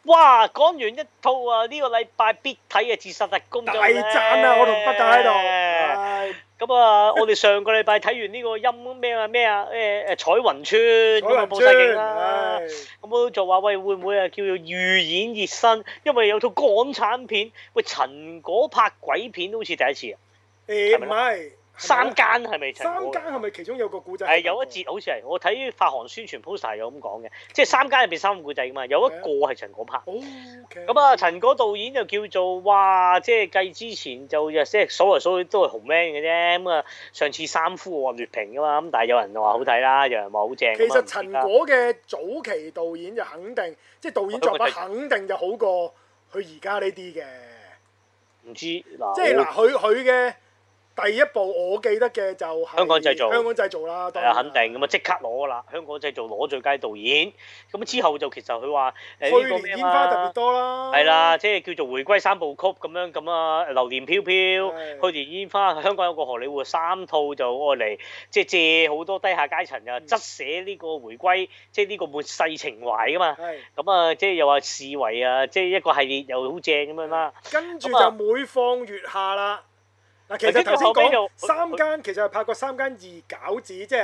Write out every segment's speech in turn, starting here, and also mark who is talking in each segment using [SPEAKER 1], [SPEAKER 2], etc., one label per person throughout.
[SPEAKER 1] 哇！講完一套啊，呢個禮拜必睇嘅《自殺特工》
[SPEAKER 2] 大讚啊！我同北大喺度，
[SPEAKER 1] 唉咁啊，我哋上個禮拜睇完呢個陰咩啊彩雲村咁啊，報晒警啦。咁我就話喂，會唔會啊叫做預演熱身？因為有套港產片，喂陳果拍鬼片都好似第一次啊。
[SPEAKER 2] 唔係
[SPEAKER 1] 三間係咪陳果？
[SPEAKER 2] 三間係咪其中有個古仔？
[SPEAKER 1] 係有一節好似係，我睇發行宣傳 poster 有咁講嘅，即係三間入邊三個故仔噶嘛，有一個係陳果拍。咁啊，陳果導演就叫做哇，即係計之前就即係數嚟數去都係紅 man 嘅啫。咁啊，上次三夫我話劣評噶嘛，咁但係有人話好睇啦，有人話好正。
[SPEAKER 2] 其實陳果嘅早期導演就肯定，即係導演作品肯定就好過佢而家呢啲嘅。
[SPEAKER 1] 唔知嗱，
[SPEAKER 2] 即係嗱，佢嘅第一部我記得嘅就係
[SPEAKER 1] 香港製造，
[SPEAKER 2] 香港製造啦，
[SPEAKER 1] 係啊，肯定咁啊，即刻攞啦！香港製造攞最佳導演，咁之後就其實佢話
[SPEAKER 2] 去年煙花特別多啦，
[SPEAKER 1] 係啦，即係叫做回歸三部曲咁啊，流年飄飄，去年煙花，香港有個荷里活三套就愛嚟，即係借好多低下階層啊，側寫呢個回歸，即係呢個末世情懷噶嘛。咁啊，即係又話視為啊，即係一個系列又好正咁樣啦。
[SPEAKER 2] 跟住就每況愈下啦。嗱，其實頭先講三間，其實係拍過三間二餃子，即係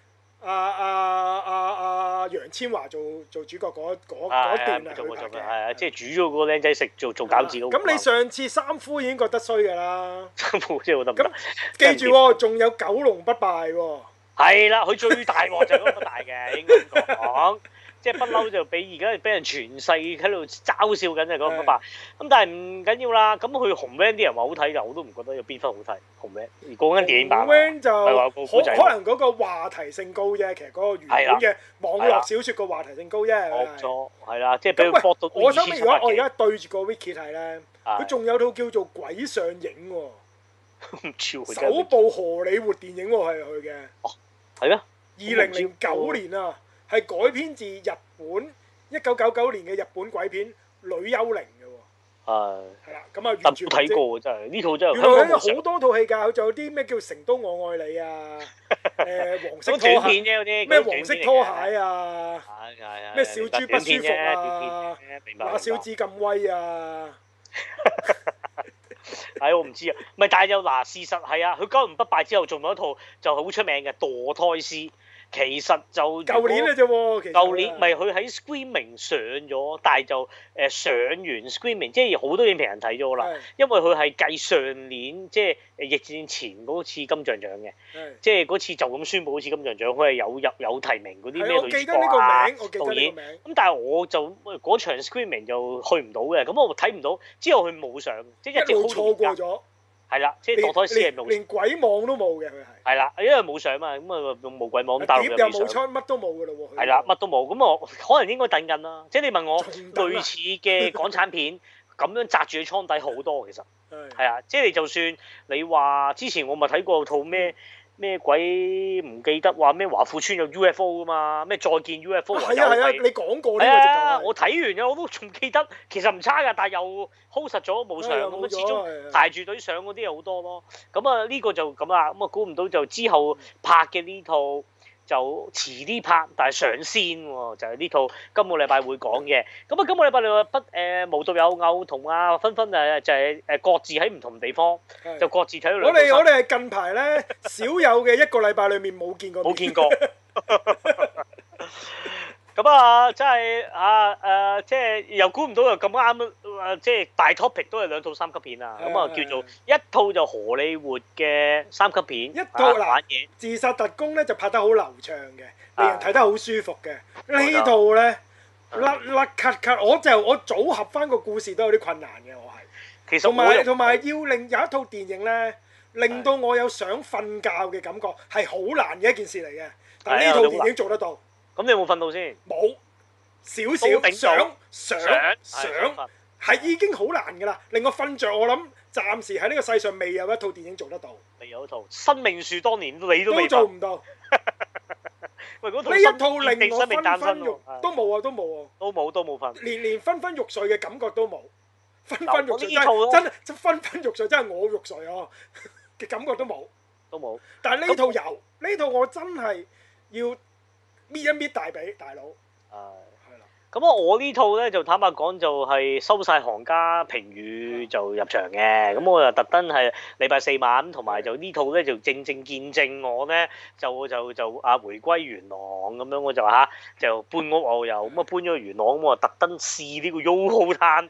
[SPEAKER 2] 楊千嬅做主角嗰段啊，佢拍嘅。
[SPEAKER 1] 係啊，即係煮咗個僆仔食做餃子嗰個。
[SPEAKER 2] 咁你上次三夫已經覺得衰㗎啦。
[SPEAKER 1] 三夫真係好得唔得？
[SPEAKER 2] 咁記住喎，仲有九龍不敗喎。
[SPEAKER 1] 係啦，佢最大鑊就係嗰個不大嘅，應該咁講。即係不嬲就俾而家俾人全世喺度嘲笑緊就嗰個不敗。咁但係唔緊要啦。咁佢紅 van 啲人話好睇㗎，我都唔覺得有邊分好睇。紅 van 而講緊電影版。
[SPEAKER 2] 紅 van 就可能嗰個話題性高啫，其實嗰個原本嘅網絡小説個話題性高啫。
[SPEAKER 1] 冇錯，係啦，即係俾佢搏到。
[SPEAKER 2] 我想如果我而家對住個 wiki 睇咧，佢仲有套叫做《鬼上映》喎。首部荷里活電影喎係佢嘅。
[SPEAKER 1] 哦，係咩
[SPEAKER 2] ？2009年啊。係改編自日本1999年嘅日本鬼片《女幽靈》嘅喎。係啦，咁啊完全冇
[SPEAKER 1] 睇過真係呢套真係。
[SPEAKER 2] 原來佢好多套戲㗎，佢仲有啲咩叫《成都我愛你》啊，黃色拖鞋咩黃色拖鞋啊，咩小豬不舒服啊，馬小子咁威啊。
[SPEAKER 1] 係我唔知啊，唔係但係又嗱事實係啊，佢九龍不敗之後仲有一套就好出名嘅《墮胎師》。其實就
[SPEAKER 2] 舊年嘅啫喎，
[SPEAKER 1] 舊年咪佢喺 Screaming 上咗，但係就上完 Screaming，即係好多影評人睇咗啦。因為佢係繼上年即係疫戰前嗰次金像獎嘅，即係嗰次就咁宣佈好似金像獎，佢係有提名嗰啲咩女主角啊、導演。咁但係我就嗰場 Screaming 就去唔到嘅，咁我睇唔到。之後佢冇上，即係一直
[SPEAKER 2] 錯過咗。
[SPEAKER 1] 係啦，即係墮胎師係冇，
[SPEAKER 2] 連鬼網都冇嘅佢係。係
[SPEAKER 1] 啦，因為冇上嘛，咁啊用無鬼網咁大陸
[SPEAKER 2] 又冇出，乜都冇㗎咯喎。
[SPEAKER 1] 係啦，乜都冇，咁我可能應該等緊啦。即係你問我類似嘅港產片咁樣擲住喺倉底好多其實。係啊，即係你就算你話之前我咪睇過套咩鬼唔記得話咩華富村有 UFO 㗎嘛，咩再見 UFO 啊，
[SPEAKER 2] 係啊，你講過呢個直頭。
[SPEAKER 1] 我睇完嘅我都仲記得，其實唔差㗎，但係又 hold 實咗冇上咁啊，始終排住隊上嗰啲又好多咯。咁啊呢個就咁啦，咁啊估唔到就之後拍嘅呢套就遲啲拍，但係上先喎，就係呢套今個禮拜會講嘅。咁啊今個禮拜你話無獨有偶同阿芬芬就係各自喺唔同地方，就各自睇咗兩套。
[SPEAKER 2] 我哋係近排咧少有嘅一個禮拜裏面冇見過。
[SPEAKER 1] 冇見過。咁啊，真係即係又估唔到又咁啱即係大 topic 都係兩套三級片啊！咁啊叫做一套就荷里活嘅三級片，
[SPEAKER 2] 一套嗱自殺特工咧就拍得好流暢嘅，令人睇得好舒服嘅。呢套咧甩咳，我組合翻個故事都有啲困難嘅，我係。其實同埋要令有一套電影咧，令到我有想瞓覺嘅感覺係好難嘅一件事嚟嘅，但係呢套電影做得到。
[SPEAKER 1] 咁你有冇瞓到先？
[SPEAKER 2] 冇，少想係已經好難㗎啦，令我瞓着。我諗暫時喺呢個世上未有一套電影做得到。
[SPEAKER 1] 未有一套《生命樹》當年你都未
[SPEAKER 2] 做唔到。
[SPEAKER 1] 喂，嗰套
[SPEAKER 2] 呢一套令我昏昏欲都冇啊，都冇瞓，連昏昏欲睡嘅感覺都冇。昏昏欲睡真昏昏欲睡，真係我欲睡啊嘅感覺都冇。但係呢套有，呢套我真係要搣一搣大髀，大佬。係啦。
[SPEAKER 1] 咁啊，我呢套咧就坦白講就係收晒行家評語就入場嘅，咁我就特登係禮拜四晚，同埋就呢套咧就正正見證我咧就回歸元朗咁樣，我就就搬屋我又咁啊搬咗去元朗，咁我特登試呢個 YOHO Town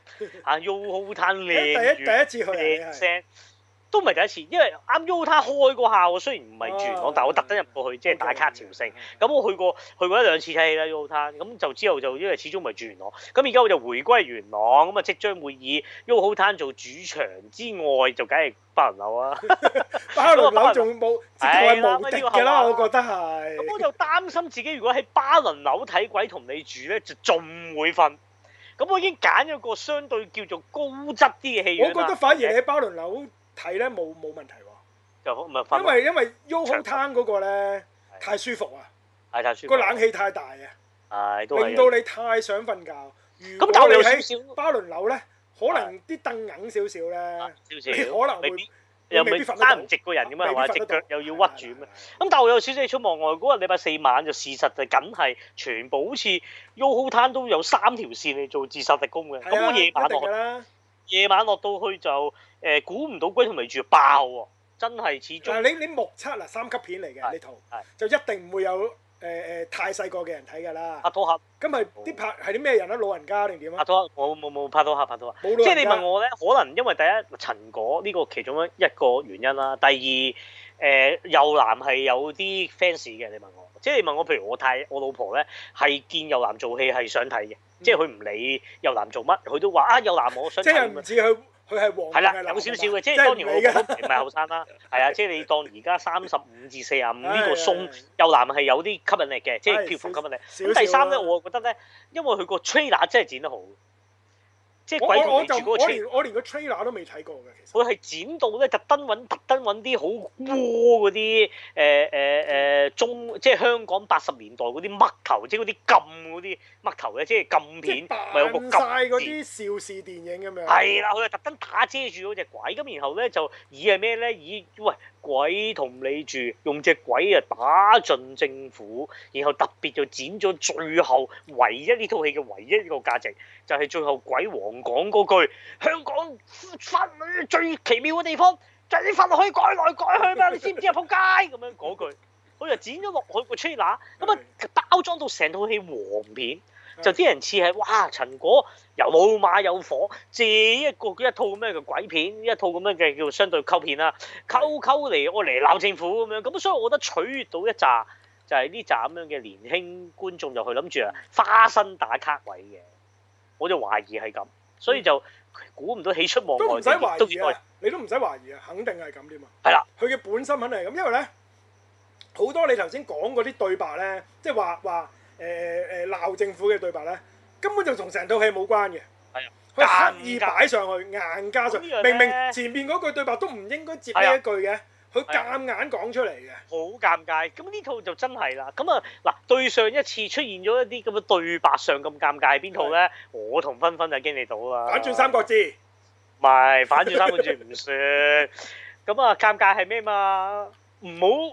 [SPEAKER 1] YOHO Town 靚
[SPEAKER 2] 第一次去
[SPEAKER 1] 靚聲。都唔係第一次，因為啱 YOHO Town 開嗰下，我雖然唔係住元朗，但我特登入過去，即係打卡朝聖。咁我去過一兩次睇戲啦 YOHO Town，咁就之後就因為始終唔係住元朗，咁而家我就回歸元朗，咁啊即將會以 YOHO Town 做主場之外，就梗係巴倫樓啊！
[SPEAKER 2] 巴倫樓仲冇，直頭係無敵㗎啦，我覺得係。
[SPEAKER 1] 咁我就擔心自己如果喺巴倫樓睇鬼同你住咧，就仲會瞓。咁我已經揀咗個相對叫做高質啲嘅戲院啦。
[SPEAKER 2] 我覺得反而你喺巴倫樓睇咧冇問題喎，
[SPEAKER 1] 就唔係
[SPEAKER 2] 因為 YOHO Town 嗰個咧太舒服啊，
[SPEAKER 1] 太舒服，
[SPEAKER 2] 個冷氣太大啊，令到你太想瞓覺。如果你喺巴倫樓咧，可能啲凳硬少少咧，你可能會
[SPEAKER 1] 又未必瞓唔直個人咁樣，係嘛？隻腳又要屈住咁。咁但係我有少少出望外，嗰日禮拜四晚就事實就梗係全部好似 YOHO Town 都有3條線嚟做自殺特工嘅。咁我夜晚落到去就估唔到鬼同你住爆喎，真係始終。
[SPEAKER 2] 你目測嗱3級片嚟嘅呢套，就一定唔會有太細個嘅人睇㗎啦。
[SPEAKER 1] 拍拖客。
[SPEAKER 2] 咁係啲拍係啲咩人啊？老人家定點啊？
[SPEAKER 1] 拍拖客冇拍拖客。即係你問我咧，可能因為第一陳果呢個其中一個原因啦，第二右男係有啲 fans 嘅。你問我，即係你問我，譬如我老婆咧係見右男做戲係想睇嘅。即係佢唔理右男做乜，佢都話右男我想睇。
[SPEAKER 2] 即係唔知佢係黃。係
[SPEAKER 1] 啦，有少少嘅，即係當年我老婆唔係後生啦，係啊，即係你當而家35至45呢個鬆，右男係有啲吸引力嘅，即係票房吸引力。咁第三咧，我覺得咧，因為佢個 trailer 真係剪得好。即係鬼同你住嗰個 trailer，
[SPEAKER 2] 我連個 trailer 都未睇過嘅，其實。
[SPEAKER 1] 佢係剪到咧，特登揾啲好窩嗰啲即係香港80年代嗰啲嘜頭，即係嗰啲禁嗰啲嘜頭咧，即係禁片，咪有個禁。
[SPEAKER 2] 曬嗰啲邵氏電影咁樣。
[SPEAKER 1] 係啦，佢係特登打遮住嗰隻鬼，咁然後咧就以係咩咧？喂鬼同你住，用隻鬼啊打盡政府，然後特別就剪咗最後唯一呢套戲嘅唯一一個價值，就係最後鬼王講嗰句：香港法律最奇妙嘅地方就係啲法律可以改來改去嘛，你知唔知啊？仆街咁樣嗰句，佢就剪咗落去個 trailer，咁啊包裝到成套戲黃片。就啲人似係哇陳果又冇馬有火，借一套咁樣嘅鬼片，一套咁樣嘅叫相對溝片啦，溝嚟我嚟鬧政府咁樣，咁所以我覺得取悅到一紮就係呢紮咁樣嘅年輕觀眾就去諗住花生打卡位嘅，我就懷疑係咁，所以就估唔到喜出望外。
[SPEAKER 2] 都唔使懷疑啊！你都唔使懷疑啊！肯定係咁添啊！
[SPEAKER 1] 係啦，
[SPEAKER 2] 佢嘅本身肯定係咁，因為咧好多你頭先講嗰啲對白咧，即係話。鬧政府嘅對白咧，根本就同成套戲冇關嘅。
[SPEAKER 1] 係啊，
[SPEAKER 2] 佢刻意擺上去，硬加上。明明前面嗰句對白都唔應該接呢一句嘅，佢夾硬講出嚟嘅。
[SPEAKER 1] 好尷尬。咁呢套就真係啦。咁啊嗱，對上一次出現咗一啲咁嘅對白上咁尷尬係邊套咧？我同芬芬就經歷到啦。
[SPEAKER 2] 反轉三國志。
[SPEAKER 1] 唔係反轉三國志唔算。咁啊，尷尬係咩嘛？唔好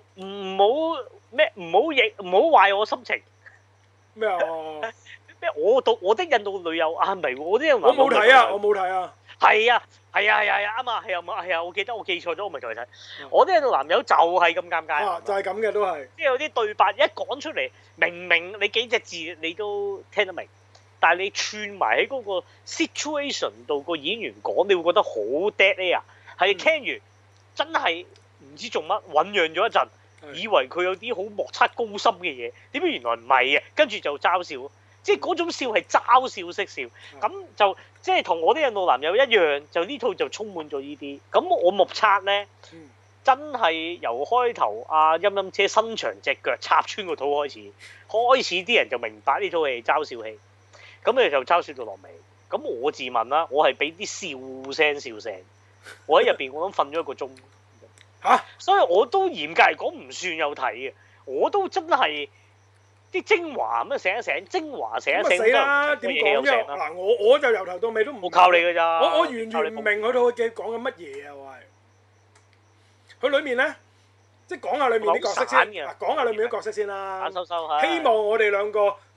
[SPEAKER 1] 壞我心情。
[SPEAKER 2] 咩啊？
[SPEAKER 1] 咩？我的印度女友啊，唔係我啲人話
[SPEAKER 2] 我冇睇啊，我冇睇啊。
[SPEAKER 1] 係啊，啱啊，係啊，我記得我記錯咗，我咪再睇。我啲印度男友就係咁尷尬。
[SPEAKER 2] 就係咁嘅都係。
[SPEAKER 1] 即係有啲對白一講出嚟，明明你幾隻字你都聽得明，但係你串埋喺嗰個 situation 度個演員講，你會覺得好 dead air。係聽完真係唔知做乜，醖釀咗一陣。以為佢有啲好莫測高深嘅嘢，點解原來唔係嘅？跟住就嘲笑，即係嗰種笑係嘲笑式笑，咁就即係同我啲印度男友一樣，就呢套就充滿咗呢啲。咁我目測咧，真係由開頭阿陰陰車伸長隻腳插穿個肚開始啲人就明白呢套戲係嘲笑戲，咁你就嘲笑到落尾。咁我自問啦，我係俾啲笑聲，我喺入邊我諗瞓咗1個鐘。所以我都嚴格嚟講唔算有睇嘅，我都真係啲精華咁醒一醒，精華醒一醒。死啦！點講啫？
[SPEAKER 2] 嗱，我就由頭到尾都唔。
[SPEAKER 1] 我靠你㗎咋！
[SPEAKER 2] 我完全唔明佢套嘅講緊乜嘢啊！我係佢裏面咧，即係講下裏面啲角色先。嗱，講下裏面啲角色先啦。
[SPEAKER 1] 收
[SPEAKER 2] 希望我哋兩個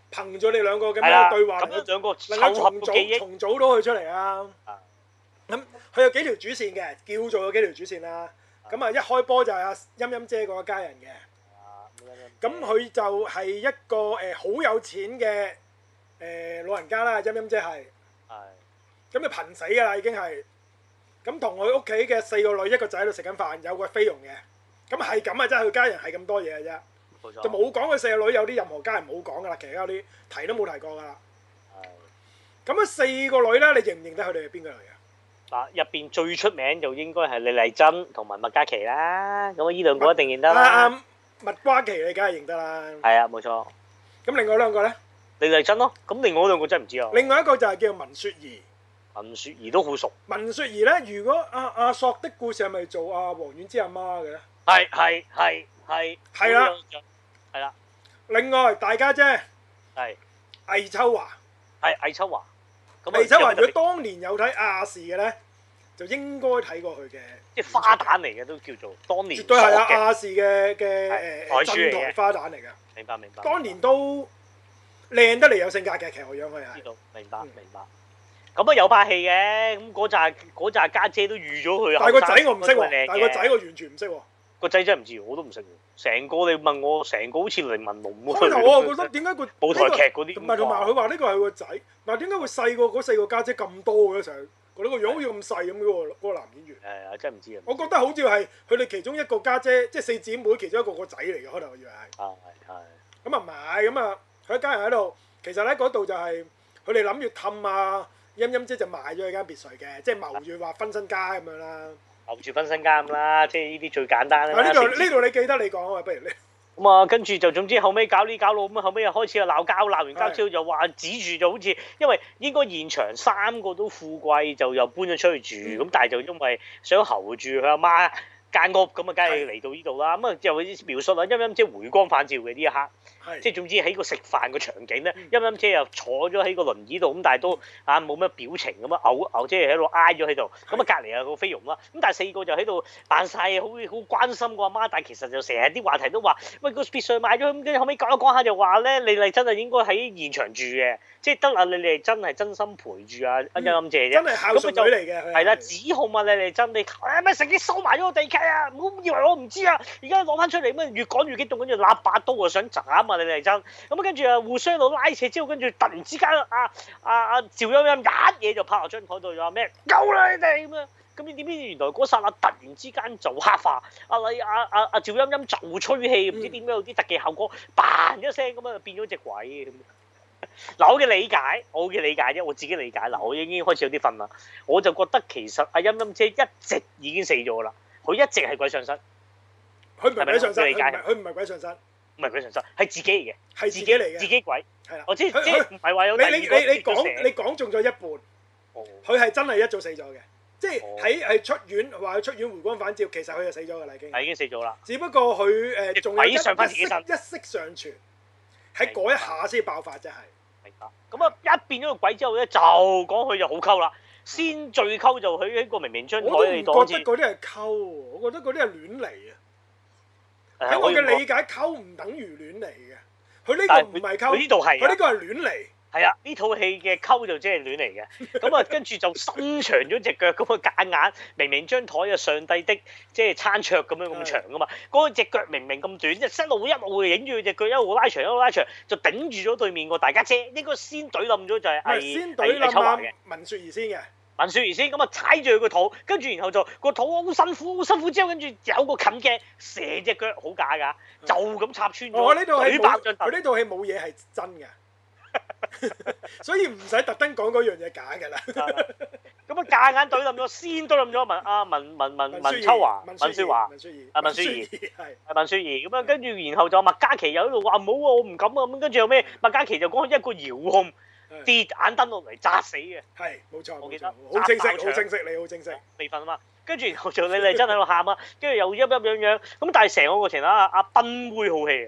[SPEAKER 2] 憑住你兩個咁樣對話，
[SPEAKER 1] 咁樣兩個
[SPEAKER 2] 能夠
[SPEAKER 1] 重組
[SPEAKER 2] 重組到佢出嚟啊！咁佢有幾條主線嘅，叫做有幾條主線啦。咁啊，一開波就係阿陰陰姐嗰一家人嘅。咁佢就係一個好有錢嘅老人家啦，陰陰姐係。咁就貧死㗎啦，已經係。咁同佢屋企嘅4個女，一個仔喺度食緊飯，有個菲傭嘅。咁係咁啊，真係佢家人係咁多嘢嘅啫。冇錯。就冇講佢4個女有啲任何家人冇講㗎啦，其他嗰啲提都冇提過㗎啦。咁啊4個女咧，你認唔認得佢哋係邊個嚟嘅？
[SPEAKER 1] 嗱，入邊最出名就應該係李麗珍同埋麥嘉琪啦。咁啊，呢兩個一定認得啦。麥嘉琪你梗係認得啦。係啊，冇錯。咁另外兩個咧？李麗珍咯。咁另外兩個真係唔知啊。另外一個就係叫文雪兒。文雪兒都好熟。文雪兒咧，如果阿索的故事係咪做阿黃婉之阿媽嘅咧？係啦。係啦。另外大家姐係魏秋華。係魏秋華。魏秋華如果當年有睇亞視嘅咧，就應該睇過佢嘅。即係花旦嚟嘅都叫做當年。絕對係亞視嘅鎮台花旦嚟㗎。明白。當年都靚得嚟有性格嘅，其實我樣佢係。知道。明白。咁啊有拍戲嘅，咁嗰扎家姐都預咗佢。但係個仔我唔識喎，但係個仔我完全唔識喎。個仔真係唔知，我都唔識喎。成個你問我，成個好似凌文龍喎。開頭我覺得點解個舞台劇嗰啲唔係，同埋佢話呢個係個仔，但係點解會細過嗰4個家姐咁多嘅？成日覺得個樣好似咁細咁嘅喎，嗰個男演員。係啊，真係唔知啊。我覺得好似係佢哋其中一個家姐，即係4姊妹其中一個個仔嚟嘅。開頭我以為係。係。咁啊唔係，咁啊佢一家人喺度，其實咧嗰度就係佢哋諗住氹啊。陰陰姐就賣咗佢間別墅嘅，即係謀住話分身家咁樣啦。謀住分身家咁啦，即係呢啲最簡單啦。呢度你記得你講啊，不如你。咁啊，跟住就總之後尾搞呢搞路咁啊，後尾又開始又鬧交，鬧完交之後就話指住就好似，因為應該現場3個都富貴，就又搬咗出去住，咁但係就因為想候住佢阿媽間屋，咁啊梗係嚟到呢度啦。咁啊就描述啊陰陰姐回光返照嘅呢一刻。即係總之喺個食飯個場景咧，陰陰姐又坐咗喺個輪椅度，咁但係都冇乜表情咁啊，嘔即係喺度挨咗喺度。咁啊隔離有個菲傭啦，咁但係4個就喺度扮晒好關心個阿媽，但係其實就成日啲話題都話，喂個別墅買咗，咁跟住後尾講一講下就話咧，李麗珍係應該喺現場住嘅，即係得啊李麗珍係真心陪住啊陰陰姐啫。真係孝順女嚟嘅。係啦，指控啊李麗珍，你咪成日收埋咗個地契啊！唔好以為我唔知啊，而家攞翻出嚟咁越講越激動，跟住立把刀啊想斬啊！李麗珍，咁跟住啊互相喺度拉扯之後，跟住突然之間趙陰陰一嘢就拍落張台度，就話咩夠啦你哋咁樣，咁你點知原來嗰剎那突然之間就黑化，趙陰陰就吹氣，唔知點解有啲特技效果，嘭一聲咁啊變咗隻鬼咁。嗱我嘅理解啫，我自己理解嗱，我已經開始有啲瞓啦，我就覺得其實阿陰陰姐一直已經死咗啦，佢一直係鬼上身，佢唔係鬼上身，佢唔係鬼上身。唔係鬼上身，係自己嚟嘅，係自己嚟嘅，自己鬼。係啦，我知，即係唔係話有第二個。你講中咗一半，佢係真係一早死咗嘅，即係喺出院話佢出院回光返照，其實佢就死咗㗎啦，已經。係已經死咗啦。只不過佢仲有一息尚存，喺嗰一下先爆發啫係。明白。咁啊，一變咗個鬼之後咧，就講佢就好溝啦。先最溝就佢喺個明明張台嚟當。我覺得嗰啲係溝，我覺得嗰啲係亂嚟啊。喺我嘅理解，溝唔等於亂嚟嘅。佢呢個唔係溝，佢呢度係，佢呢個係亂嚟。係啊，呢套戲嘅溝就即係亂嚟嘅。咁啊，跟住就伸長咗隻腳，咁啊夾硬，明明張台啊上帝的即係餐桌咁樣咁長噶嘛，嗰隻腳明明咁短，一路影住佢隻腳，一路拉長，就頂住咗對面個大家姐，應該先懟冧咗就係先懟冧阿文雪兒先嘅。文雪兒先咁啊，踩住佢個肚，跟住然後就個肚好辛苦之後，跟住有個近鏡射隻腳好假㗎，就咁插穿咗。我呢套戲佢呢套戲冇嘢係真嘅，所以唔使特登講嗰樣嘢假㗎啦。咁啊，夾硬懟冧咗，先懟冧咗文秋華、文雪兒係文雪兒咁啊，跟住然後就麥嘉琪又喺度話唔好啊，我唔敢啊，咁跟住後尾麥嘉琪就講一個遙控。跌眼燈落嚟砸死嘅，係冇錯，我記得好清晰，你好清晰。未瞓啊嘛，跟住然後就你哋真喺度喊啊，跟住又陰，咁但係成個過程阿斌妹好戲啊，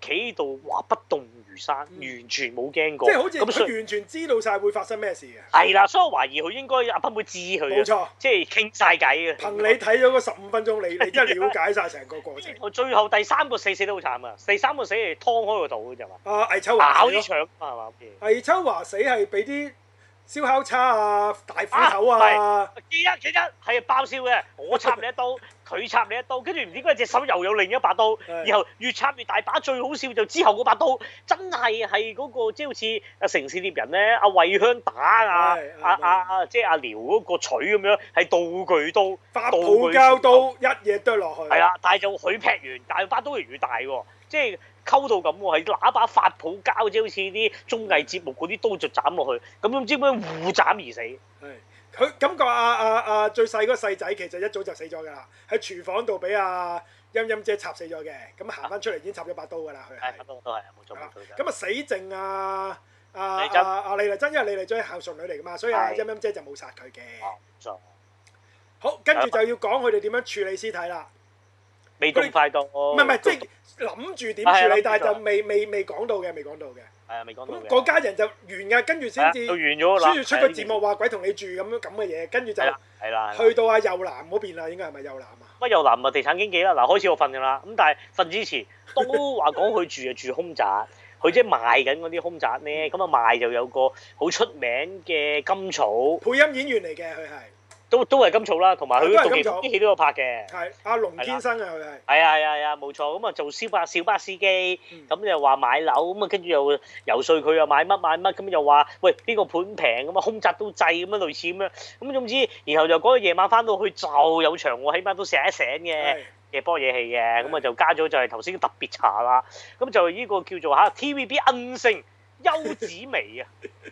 [SPEAKER 1] 企喺度，哇不動如山，完全冇驚過。
[SPEAKER 2] 即係好似佢完全知道晒會發生咩事嘅。
[SPEAKER 1] 係啦，所以我懷疑佢應該阿斌妹知佢。
[SPEAKER 2] 冇錯，
[SPEAKER 1] 即係傾晒偈嘅。
[SPEAKER 2] 憑你睇咗嗰15分鐘，你真係了解晒成個過程。
[SPEAKER 1] 我最後第3個死得好慘啊！第3個死係劏開個肚啫嘛。
[SPEAKER 2] 魏秋華
[SPEAKER 1] 咬啲腸係嘛？
[SPEAKER 2] 魏秋華死係俾啲燒烤叉啊、大斧頭啊。
[SPEAKER 1] 記得係爆笑嘅，我插你一刀，佢插你一刀，跟住唔知嗰隻手又有另一把刀，然後越插越大把。最好笑就之後嗰把刀真係嗰個即係好似啊城市獵人咧，阿慧香打即係阿遼嗰個錘咁樣，係道具刀，
[SPEAKER 2] 發泡膠刀一嘢剁落去。
[SPEAKER 1] 係啦，但係就佢劈完，但係把刀越大喎，即係溝到咁喎，係拿把發泡膠，即係好似啲綜藝節目嗰啲刀就斬落去，咁唔知點解互斬而死。
[SPEAKER 2] 係佢感覺阿最細嗰個細仔其實一早就死咗㗎啦，喺廚房度俾阿陰陰姐插死咗嘅，咁行翻出嚟已經插咗把刀㗎啦，佢係。都係冇錯。咁啊死剩阿李麗珍，因為李麗珍係孝順女嚟㗎嘛，所以阿陰陰姐就冇殺佢嘅。冇錯。好，跟住就要講佢哋點樣處理屍體啦。
[SPEAKER 1] 未咁快到。
[SPEAKER 2] 唔係，即係諗住點處理，但係就未講到嘅，未講到嘅。係啊，未講到嘅。咁嗰家人就完㗎，跟住先至出個字幕話鬼同你住咁嘅嘢，跟住就去到阿右南嗰邊啦，應該係咪右南啊？
[SPEAKER 1] 乜右南啊？地產經紀啦，嗱開始我瞓㗎啦，咁但係瞓之前都話講佢住就住兇宅，佢即係賣緊嗰啲兇宅咧，咁啊賣就有個好出名嘅甘草
[SPEAKER 2] 配音演員嚟嘅，佢係。
[SPEAKER 1] 都係甘草啦，同埋佢杜琪峰啲戲都有拍嘅。
[SPEAKER 2] 係阿龍天生啊，佢係。
[SPEAKER 1] 係啊，冇錯。咁啊做小巴司機，咁又話買樓，咁啊跟住又游說佢又買乜，咁又話喂邊個盤平咁啊，空宅都制咁樣類似咁樣。咁總之，然後就嗰個夜晚翻到去就有場喎，起碼都醒一醒嘅夜波夜戲嘅，咁啊就加咗就係頭先特別茶啦。咁就呢個叫做TVB 恩星邱子薇啊，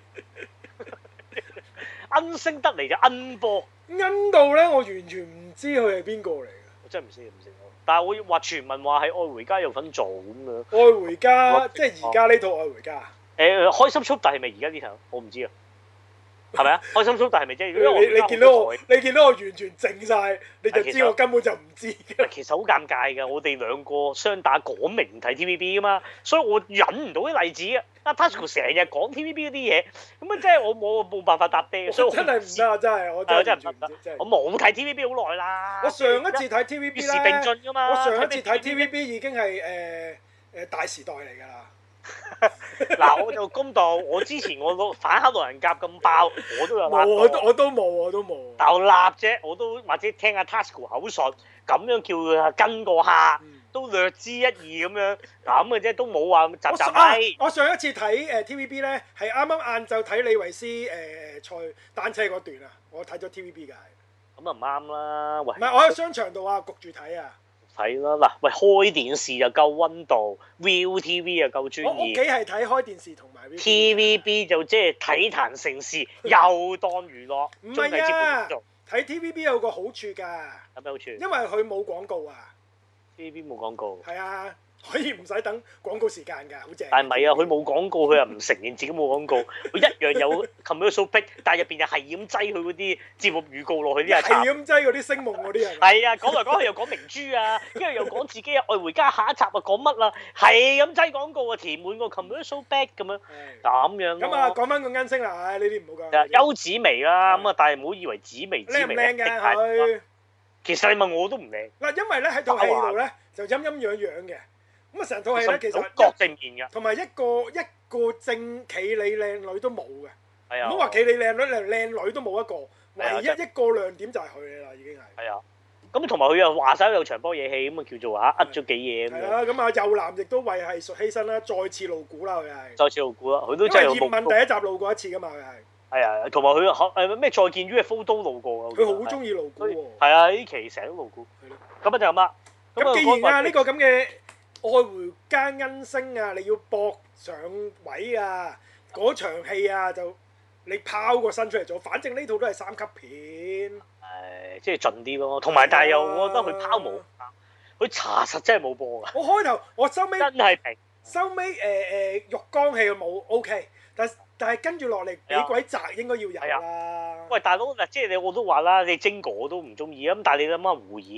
[SPEAKER 1] 恩星得嚟就恩波。
[SPEAKER 2] 恩到咧，我完全唔知佢係邊個嚟嘅。
[SPEAKER 1] 我真係唔識。但係我話傳聞話喺《愛回家》有份做咁樣。
[SPEAKER 2] 愛回家即係而家呢套《愛回家》。
[SPEAKER 1] 開心速遞係咪而家呢套？我唔知啊。係咪啊？開心速遞係咪即係？
[SPEAKER 2] 你見到我完全靜晒，你就知我根本就唔知。
[SPEAKER 1] 其實好尷尬㗎，我哋兩個雙打講明唔睇 TVB 㗎嘛，所以我忍唔到啲例子啊。阿 Tasuku 成日講 TVB 嗰啲嘢，咁啊即係我冇辦法搭爹，所以我
[SPEAKER 2] 真係唔得啊！真係我真係唔得。
[SPEAKER 1] 我冇睇 TVB 好耐啦。
[SPEAKER 2] 我上一次睇 TVB 咧，與
[SPEAKER 1] 時並進㗎嘛。
[SPEAKER 2] 我上一次睇 TVB 已經係大時代嚟㗎啦。
[SPEAKER 1] 嗱，我就公道，我之前我反黑路人甲咁爆，我都有揦過。
[SPEAKER 2] 我都冇。
[SPEAKER 1] 但我立啫，我都或者聽阿 Tasuku 口述，咁樣叫佢跟個客，都略知一二咁樣，咁嘅啫，都冇話集。
[SPEAKER 2] 我上一次睇TVB 咧，係啱啱晏晝睇李維斯賽單車嗰段啊，我睇咗 TVB 㗎。
[SPEAKER 1] 咁啊唔啱啦，喂！
[SPEAKER 2] 唔係我喺商場度啊，焗住睇啊。
[SPEAKER 1] 睇啦，嗱，喂，開電視就夠溫度 ，ViuTV 又夠專業。
[SPEAKER 2] 我屋企係睇開電視同埋
[SPEAKER 1] TVB 就即係體壇盛事，又當娛樂。
[SPEAKER 2] 唔係啊，睇 TVB 有個好處㗎。
[SPEAKER 1] 有咩好處？
[SPEAKER 2] 因為佢冇廣告啊。
[SPEAKER 1] TVB 冇廣告。
[SPEAKER 2] 係啊。可以唔使等廣告時間㗎，好正。
[SPEAKER 1] 但係唔係啊？佢冇廣告，佢又唔承認自己冇廣告，佢一樣有 commercial break，但係入邊又係咁擠佢嗰啲節目預告落去啲啊，
[SPEAKER 2] 係咁擠嗰啲星夢嗰啲人。
[SPEAKER 1] 係啊，講嚟講去又講明珠啊，跟住又講自己愛回家下一集啊講乜啦，係咁擠廣告啊，填滿個 commercial break 咁樣，咁樣。咁
[SPEAKER 2] 啊，講翻個恩星啦，唉，呢啲唔好講。
[SPEAKER 1] 邱子薇啦，咁啊，但係唔好以為紫薇
[SPEAKER 2] 靚唔靚㗎佢？
[SPEAKER 1] 其實你問我都唔靚。
[SPEAKER 2] 嗱，因為咧喺套戲度咧就陰陰陽陽嘅。咁啊，成套戲咧其實
[SPEAKER 1] 各正面嘅，
[SPEAKER 2] 同埋一個正企理靚女都冇嘅。
[SPEAKER 1] 係啊，
[SPEAKER 2] 唔好話企理靚女，連靚女都冇一個，唯一一個亮點就係佢啦，已經係。係啊，
[SPEAKER 1] 咁同埋佢又話晒有場波嘢戲，咁啊叫做呃咗幾嘢咁樣。
[SPEAKER 2] 係啊，咁啊右男亦都為藝術犧牲啦，再次露股啦，佢係。
[SPEAKER 1] 再次露股啦，佢都真係有。
[SPEAKER 2] 因為葉問第一集露過一次㗎嘛，佢係。
[SPEAKER 1] 係啊，同埋佢咩再見 UFO 都露過㗎。
[SPEAKER 2] 佢好中意露股喎。
[SPEAKER 1] 係啊，呢期成日都露股。係咯。咁啊就咁啦。
[SPEAKER 2] 咁既然啊呢個咁嘅愛回家恩星啊，你要搏上位啊！嗰場戲啊，就你拋個身出嚟做，反正呢套都係3級片。
[SPEAKER 1] 即係盡啲咯。同埋但係又我覺得佢拋冇，佢查實真係冇播㗎。
[SPEAKER 2] 我開頭我收尾
[SPEAKER 1] 真係平。
[SPEAKER 2] 收尾浴缸戲冇 OK，但係跟住落嚟幾鬼宅應該要有啦。
[SPEAKER 1] 喂，大佬嗱，即係我都話啦，你精哥我都唔中意啊，咁但係你諗下胡演。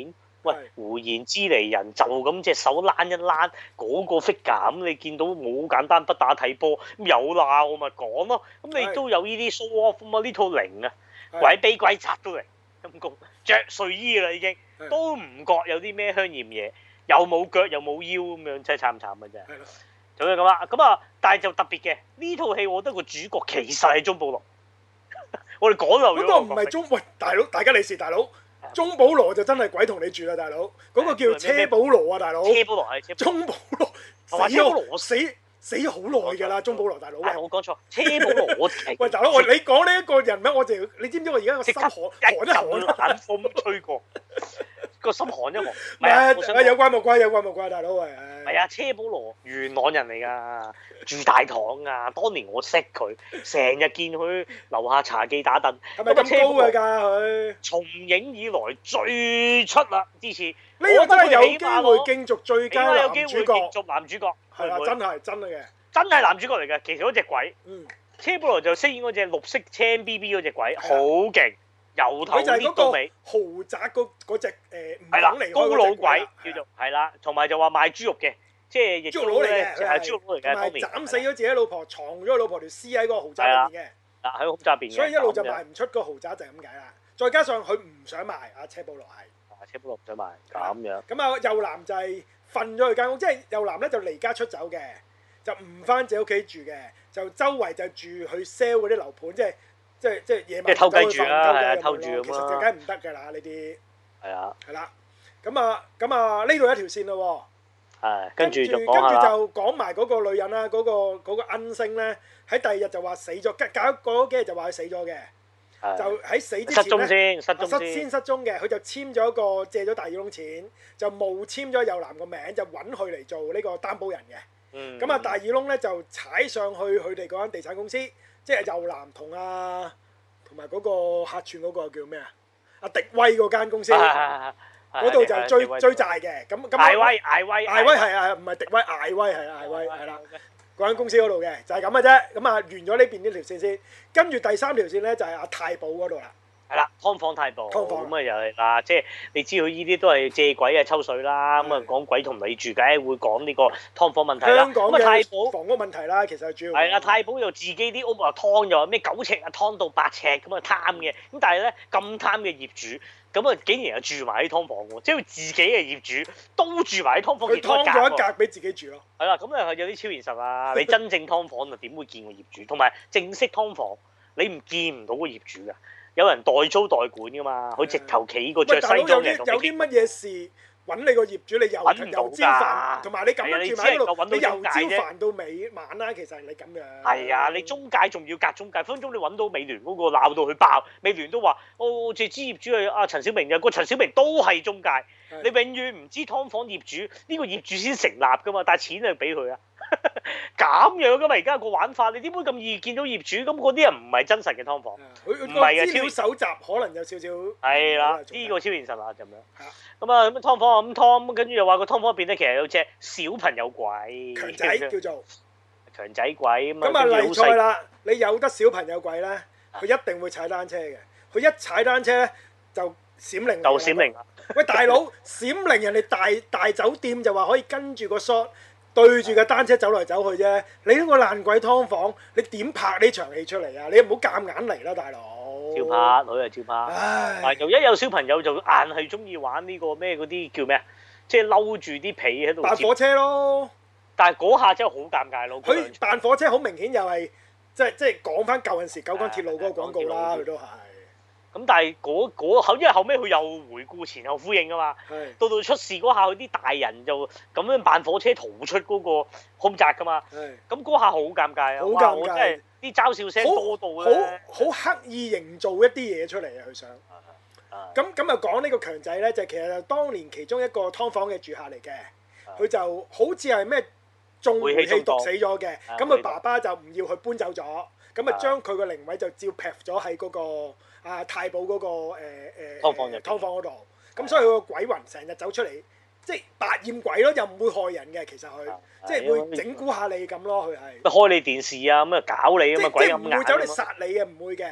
[SPEAKER 1] 喂，胡言之離人就咁隻手躝一躝，嗰個 figure 咁你見到冇好簡單，不打睇波咁有鬧我咪講咯。咁你都有呢啲 show off 嘛？呢套零啊，鬼悲鬼賊都嚟陰公，着睡衣啦已經，都唔覺有啲咩香豔嘢，又冇腳又冇腰咁樣，真係慘嘅真係。就係咁啦，咁啊，但係就特別嘅呢套戲，我覺得個主角其實係鍾保羅。我哋講漏咗。嗰個
[SPEAKER 2] 唔係喂大佬，大家利是大佬。鍾保羅就真係鬼同你住啦，大佬。嗰個叫車保羅啊，大佬。
[SPEAKER 1] 車保羅係
[SPEAKER 2] 鍾保羅死咗好耐㗎啦，鍾保羅大佬。
[SPEAKER 1] 我講錯，車保羅我
[SPEAKER 2] 喂大佬，你講呢一個人名，我就你知唔知我而家個心寒一寒，
[SPEAKER 1] 冷風吹過，個心寒一寒。
[SPEAKER 2] 唔係有關冇關，有關冇關，大佬喂。
[SPEAKER 1] 係啊，車保羅元朗人嚟㗎，住大棠啊。當年我識佢，成日見佢樓下茶記打躉。
[SPEAKER 2] 係咪咁高㗎佢？
[SPEAKER 1] 從影以來最出啦，之前。
[SPEAKER 2] 呢個真係有機會競逐最佳男主角。
[SPEAKER 1] 有機會競逐男主角。
[SPEAKER 2] 係啊，真係嘅。
[SPEAKER 1] 真係男主角嚟嘅，其實嗰隻鬼。車保羅就飾演嗰隻綠色青 BB 嗰隻鬼，好勁，由頭搣到尾。
[SPEAKER 2] 豪宅嗰隻
[SPEAKER 1] 係啦，高佬鬼叫做係啦，同埋就話賣豬肉嘅，即係亦都咧係豬肉佬嚟嘅。當年
[SPEAKER 2] 斬死咗自己老婆，藏咗老婆條屍喺個豪宅入邊嘅。
[SPEAKER 1] 喺豪宅入邊。
[SPEAKER 2] 所以一路就賣唔出個豪宅就係咁解啦。再加上佢唔想賣，阿車保羅係。
[SPEAKER 1] 車保羅唔想賣咁樣。
[SPEAKER 2] 咁啊，右男就係瞓咗佢間屋，即係右男咧就離家出走嘅，就唔翻自己屋企住嘅，就周圍就住去 sell 嗰啲樓盤，即係夜晚
[SPEAKER 1] 即係偷雞住啦，偷住咁咯。
[SPEAKER 2] 其實就梗係唔得㗎啦，呢啲。
[SPEAKER 1] 係啊。
[SPEAKER 2] 係啦，咁啊呢度一條線咯喎。
[SPEAKER 1] 係。跟住就
[SPEAKER 2] 講埋嗰個女人啦，嗰個恩星咧，喺第二日就話死咗，搞嗰幾日就話佢死咗嘅。就喺死之前咧，失蹤嘅，佢就簽咗一個借咗大耳窿錢，就冒簽咗右男個名，就揾佢嚟做呢個擔保人嘅。咁啊大耳窿咧就踩上去佢哋嗰間地產公司，即係右男同埋嗰個客串嗰個叫咩啊？阿迪威嗰間公司，嗰度就追債嘅。咁艾威係啊，唔係迪威，艾威係艾威係啦。嗰間公司嗰度嘅就係咁嘅啫，咁啊完咗呢邊呢條線先，跟住第三條線咧就係阿太保嗰度啦。
[SPEAKER 1] 係啦，劏房太保。咁啊又係嗱，即係你知佢呢啲都係借鬼啊抽水啦，咁啊講鬼同你住，梗係會講呢個劏房問題啦。
[SPEAKER 2] 香港嘅太保房屋問題啦，其實主要
[SPEAKER 1] 係啦，太保又自己啲屋啊劏，又話咩9尺啊劏到8尺咁啊貪嘅，咁但係咧咁貪嘅業主。咁啊，竟然又住埋喺劏房喎，即係佢自己嘅業主都住埋喺劏房，
[SPEAKER 2] 佢劏咗一格俾自己住咯。
[SPEAKER 1] 係啦，咁啊有啲超現實啊！你真正劏房啊，點會見個業主？同埋正式劏房，你唔見唔到個業主㗎，有人代租代管㗎嘛，佢直頭企個着西裝嘅。
[SPEAKER 2] 有啲乜嘢事揾你個業主，你由朝煩，同埋你咁樣住埋喺度，你由朝煩到尾晚啦。其實你咁樣。係
[SPEAKER 1] 啊，你中介仲要隔中介，分鐘你揾到美聯嗰個鬧到佢爆，美聯都話：哦，借支業主係阿陳小明嘅，個陳小明都係中介。你永遠唔知劏房業主呢個業主先成立㗎嘛，但係錢係俾佢啊。咁樣㗎嘛，而家個玩法，你點會咁易見到業主？咁嗰啲人唔係真實嘅劏房，唔係嘅。
[SPEAKER 2] 資料搜集可能有少少。
[SPEAKER 1] 係啦，呢個超現實啊，咁樣。咁啊，咁劏房咁劏，跟住又話個劏房入邊咧，其實有隻小朋友鬼，
[SPEAKER 2] 強仔叫做
[SPEAKER 1] 強仔鬼咁啊。
[SPEAKER 2] 咁啊，例在啦，你有得小朋友鬼咧，佢一定會踩單車嘅。佢一踩單車咧，就閃靈。
[SPEAKER 1] 就閃靈啦！
[SPEAKER 2] 喂，大佬，閃靈人哋大酒店就話可以跟住個 shot 對住個單車走來走去啫。你呢個爛鬼劏房，你點拍呢場戲出嚟啊？你唔好夾硬嚟啦，大佬。
[SPEAKER 1] 照拍，佢係照拍。又一有小朋友就硬係中意玩呢個咩嗰啲叫咩啊？即係嬲住啲被喺度。
[SPEAKER 2] 扮火車咯！
[SPEAKER 1] 但係嗰下真係好尷尬咯。
[SPEAKER 2] 佢扮火車好明顯又係即係講翻舊陣時九廣鐵路嗰個廣告啦，佢都係。咁
[SPEAKER 1] 但係因為後尾佢又回顧前後呼應㗎嘛。到出事嗰下，佢啲大人就咁樣扮火車逃出嗰個空宅㗎嘛。咁嗰下好尷尬啊！
[SPEAKER 2] 好尷尬。
[SPEAKER 1] 真係啲嘲笑聲多到咧。
[SPEAKER 2] 好刻意營造一啲嘢出嚟啊！佢想。咁啊講呢個強仔咧，就其實就當年其中一個劏房嘅住客嚟嘅，佢就好似係咩中煤氣毒死咗嘅，咁佢爸爸就唔要佢搬走咗，咁啊將佢個靈位就照劈咗喺嗰個太保嗰個劏房嗰度，咁所以佢個鬼魂成日走出嚟，即係百厭鬼咯，又唔會害人嘅，其實佢即係會整蠱下你咁咯，佢係。
[SPEAKER 1] 開你電視啊，咁啊搞你啊嘛，鬼咁
[SPEAKER 2] 即係唔會走嚟殺你嘅，唔會嘅。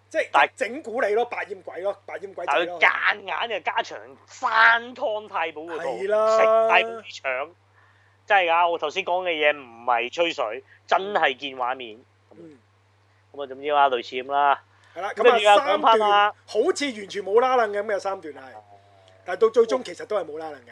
[SPEAKER 2] 即係整蠱你咯，百厭鬼咯，百厭鬼仔咯。
[SPEAKER 1] 但係夾硬就加長山湯太保嗰套，
[SPEAKER 2] 係啦
[SPEAKER 1] 食太保啲腸，真係㗎！我頭先講嘅嘢唔係吹水，真係見畫面。咁啊，總之啦，類似咁啦。係啦，
[SPEAKER 2] 咁啊三段好似完全冇拉楞嘅咁，有三段係，但係到最終其實都係冇拉楞㗎。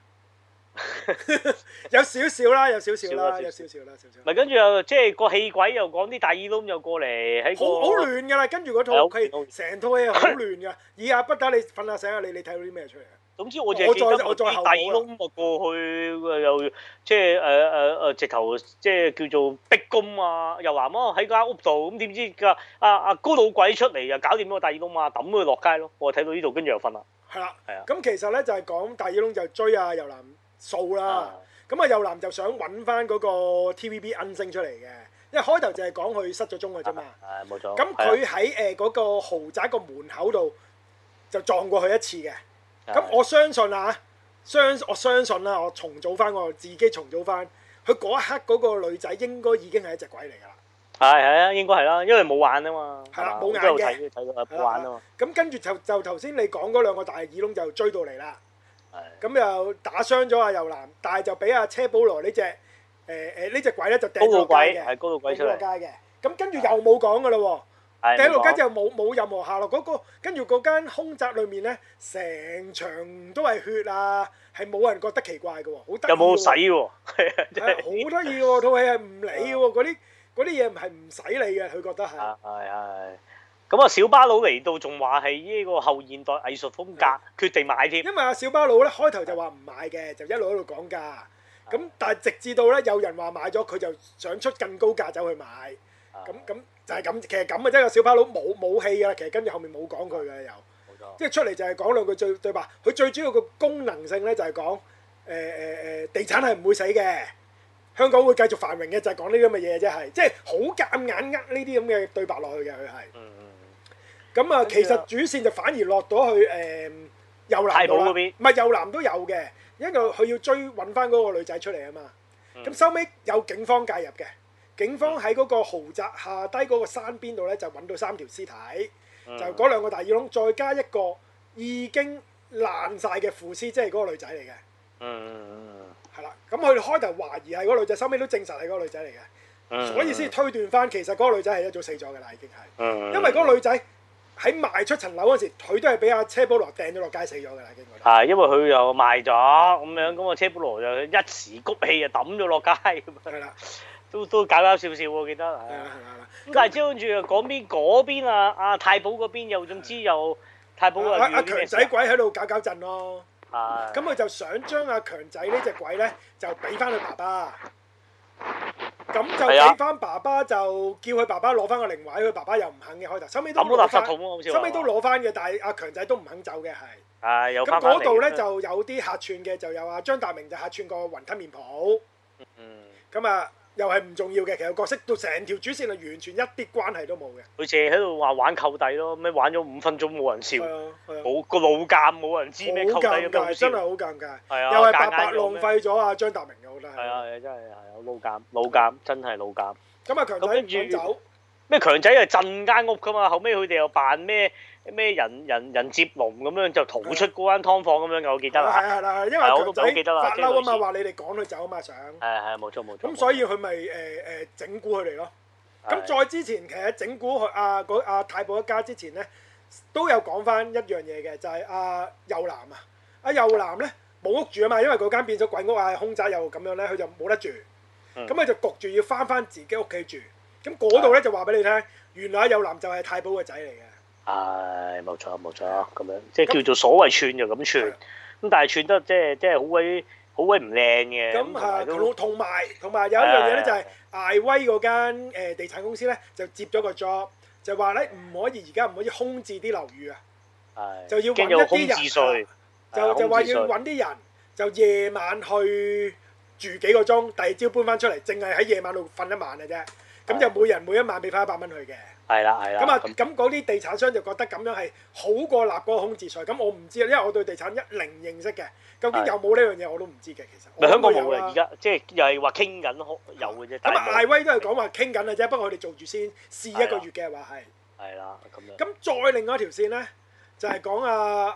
[SPEAKER 2] 有少少啦，有少少啦，有少少啦，少少。
[SPEAKER 1] 咪跟住又即係個戲鬼又講啲大耳窿又過嚟喺個
[SPEAKER 2] 好亂㗎啦，跟住嗰套戲成套戲好亂㗎。以下不打你瞓下醒下，你睇到啲咩出嚟啊？
[SPEAKER 1] 總之我淨係記得我啲大耳窿咪過去又即係直頭即係叫做逼宮啊，又話麼喺間屋度咁點知個阿高老鬼出嚟又搞掂咗個大耳窿嘛，抌佢落街咯。我睇到呢度跟住又瞓啦。係啦，係啊。
[SPEAKER 2] 咁其實咧就係講大耳窿就追阿遊男數啦。咁啊，遊男就想揾翻嗰個 TVB 恩星出嚟嘅，因為開頭就係講佢失咗蹤嘅啫嘛。係冇錯。咁佢喺嗰個豪宅個門口度就撞過去一次嘅。咁我相信啊，我相信啦，我重組翻我自己重組翻，佢嗰一刻嗰個女仔應該已經係一隻鬼嚟㗎啦。係啊，應該係啦，因為冇眼啊嘛。係啦，冇眼嘅。睇到冇眼啊嘛。咁跟住就頭先你講嗰兩個大耳窿就追到嚟啦。咁又打傷咗阿遊男，但係就俾阿車保羅呢隻呢隻鬼咧就掟落街嘅，係高到鬼出嚟。掟落街嘅，咁跟住又冇講㗎啦喎。掟落街之後冇任何下落，跟住嗰間空宅裏面咧，成場都係血啊，係冇人覺得奇怪嘅喎，好得意喎。有冇洗喎？係好得意喎，套戲係唔理喎，嗰啲嘢唔係唔使理嘅，佢覺得係。係。咁啊，小巴佬嚟到仲話係呢個後現代藝術風格，決定買添。因為阿小巴佬咧開頭就話唔買嘅，就一路喺度講價。咁但係直至到咧有人話買咗，佢就想出更高價走去買。咁就係咁，其實咁嘅啫。個小巴佬冇戲㗎啦，其實跟住後面冇講佢嘅又。冇錯。即係出嚟就係講兩句對白。佢最主要個功能性咧就係講地產係唔會死嘅，香港會繼續繁榮嘅，就係講呢啲咁嘅嘢啫，係即係好夾硬呢啲咁嘅對白落去嘅佢係。咁啊，其實主線就反而落到去遊男度啦，唔係遊男都有嘅，因為佢要追揾翻嗰個女仔出嚟啊嘛。咁收尾有警方介入嘅，警方喺嗰個豪宅下低嗰個山邊度咧就揾到3條屍體，就嗰兩個大耳窿，再加一個已經爛晒嘅腐屍，即係嗰個女仔嚟嘅。係啦，咁佢哋開頭懷疑係嗰個女仔，收尾都證實係嗰個女仔嚟嘅，所以先推斷翻其實嗰個女仔係一早死咗嘅啦，已經係。因為嗰個女仔喺賣出層樓嗰時，佢都係俾阿車保羅掟咗落街死咗㗎啦，經過。係因為佢又賣咗咁樣，咁啊車保羅就一時谷氣就抌咗落街咁樣。係啦，都搞笑笑喎，我記得。係啊。咁但係之後跟住嗰邊阿太保嗰邊又總之又太保阿強仔鬼喺度搞震咯。係。咁佢就想將阿強仔呢隻鬼咧就俾翻佢爸爸。咁就俾翻爸爸，就叫佢爸爸攞翻個靈位，佢爸爸又唔肯嘅開頭，收尾都攞翻，收尾都攞翻嘅，但係阿強仔都唔肯走嘅係。係有翻翻嚟。咁嗰度咧就有啲客串嘅，就有阿張達明就客串個雲吞麵鋪。咁啊，又係唔重要嘅，其實角色到成條主線係完全一啲關係都冇嘅。佢淨係喺度話玩扣底咯，咩玩咗5分鐘冇人笑，冇個老尷冇人知咩扣底咁樣笑。真係好尷尬。係啊。又係白白浪費咗阿張達明嘅，我覺得係。係啊，真係係老尷，真係老尷。咁啊，強仔唔想走。咩強仔係鎮間屋㗎嘛？後尾佢哋又扮咩人接龍咁樣就逃出嗰間劏房咁樣嘅，我記得啦。係啦，因為強仔發嬲啊嘛，話你哋趕佢走啊嘛，想。係冇錯。咁所以佢咪整蠱佢哋咯。咁再之前其實整蠱阿太保一家之前咧，都有講翻一樣嘢嘅，就係阿遊男啊。阿遊男咧冇屋住啊嘛，因為嗰間變咗鬼屋啊，空宅又咁樣咧，佢就冇得住。咁佢就焗住要翻自己屋企住。咁嗰度咧就話俾你聽，原來阿遊男就係太保個仔嚟嘅。係冇錯咁樣，即係叫做所謂串就咁串。咁但係串得即係好鬼唔靚嘅。咁同埋有一樣嘢咧，就係艾威嗰間地產公司咧就接咗個 job，就話咧唔可以而家唔可以空置啲樓宇啊。就要揾一啲人，就話要揾啲人，就夜晚去住幾個鐘，第二朝搬翻出嚟，淨係喺夜晚度瞓一晚嘅啫。咁就每人每一晚俾翻100蚊佢嘅。係啦。咁嗰啲地產商就覺得咁樣係好過立嗰個空置稅。咁我唔知啊，因為我對地產零認識嘅，究竟有冇呢樣嘢我都唔知嘅。其實。咪香港冇嘅，而家即係又係話傾緊有嘅啫。咁艾威都係講話傾緊嘅啫，不過佢哋做住先試1個月嘅話係。
[SPEAKER 1] 係啦，咁樣。
[SPEAKER 2] 咁再另外一條線咧，就係講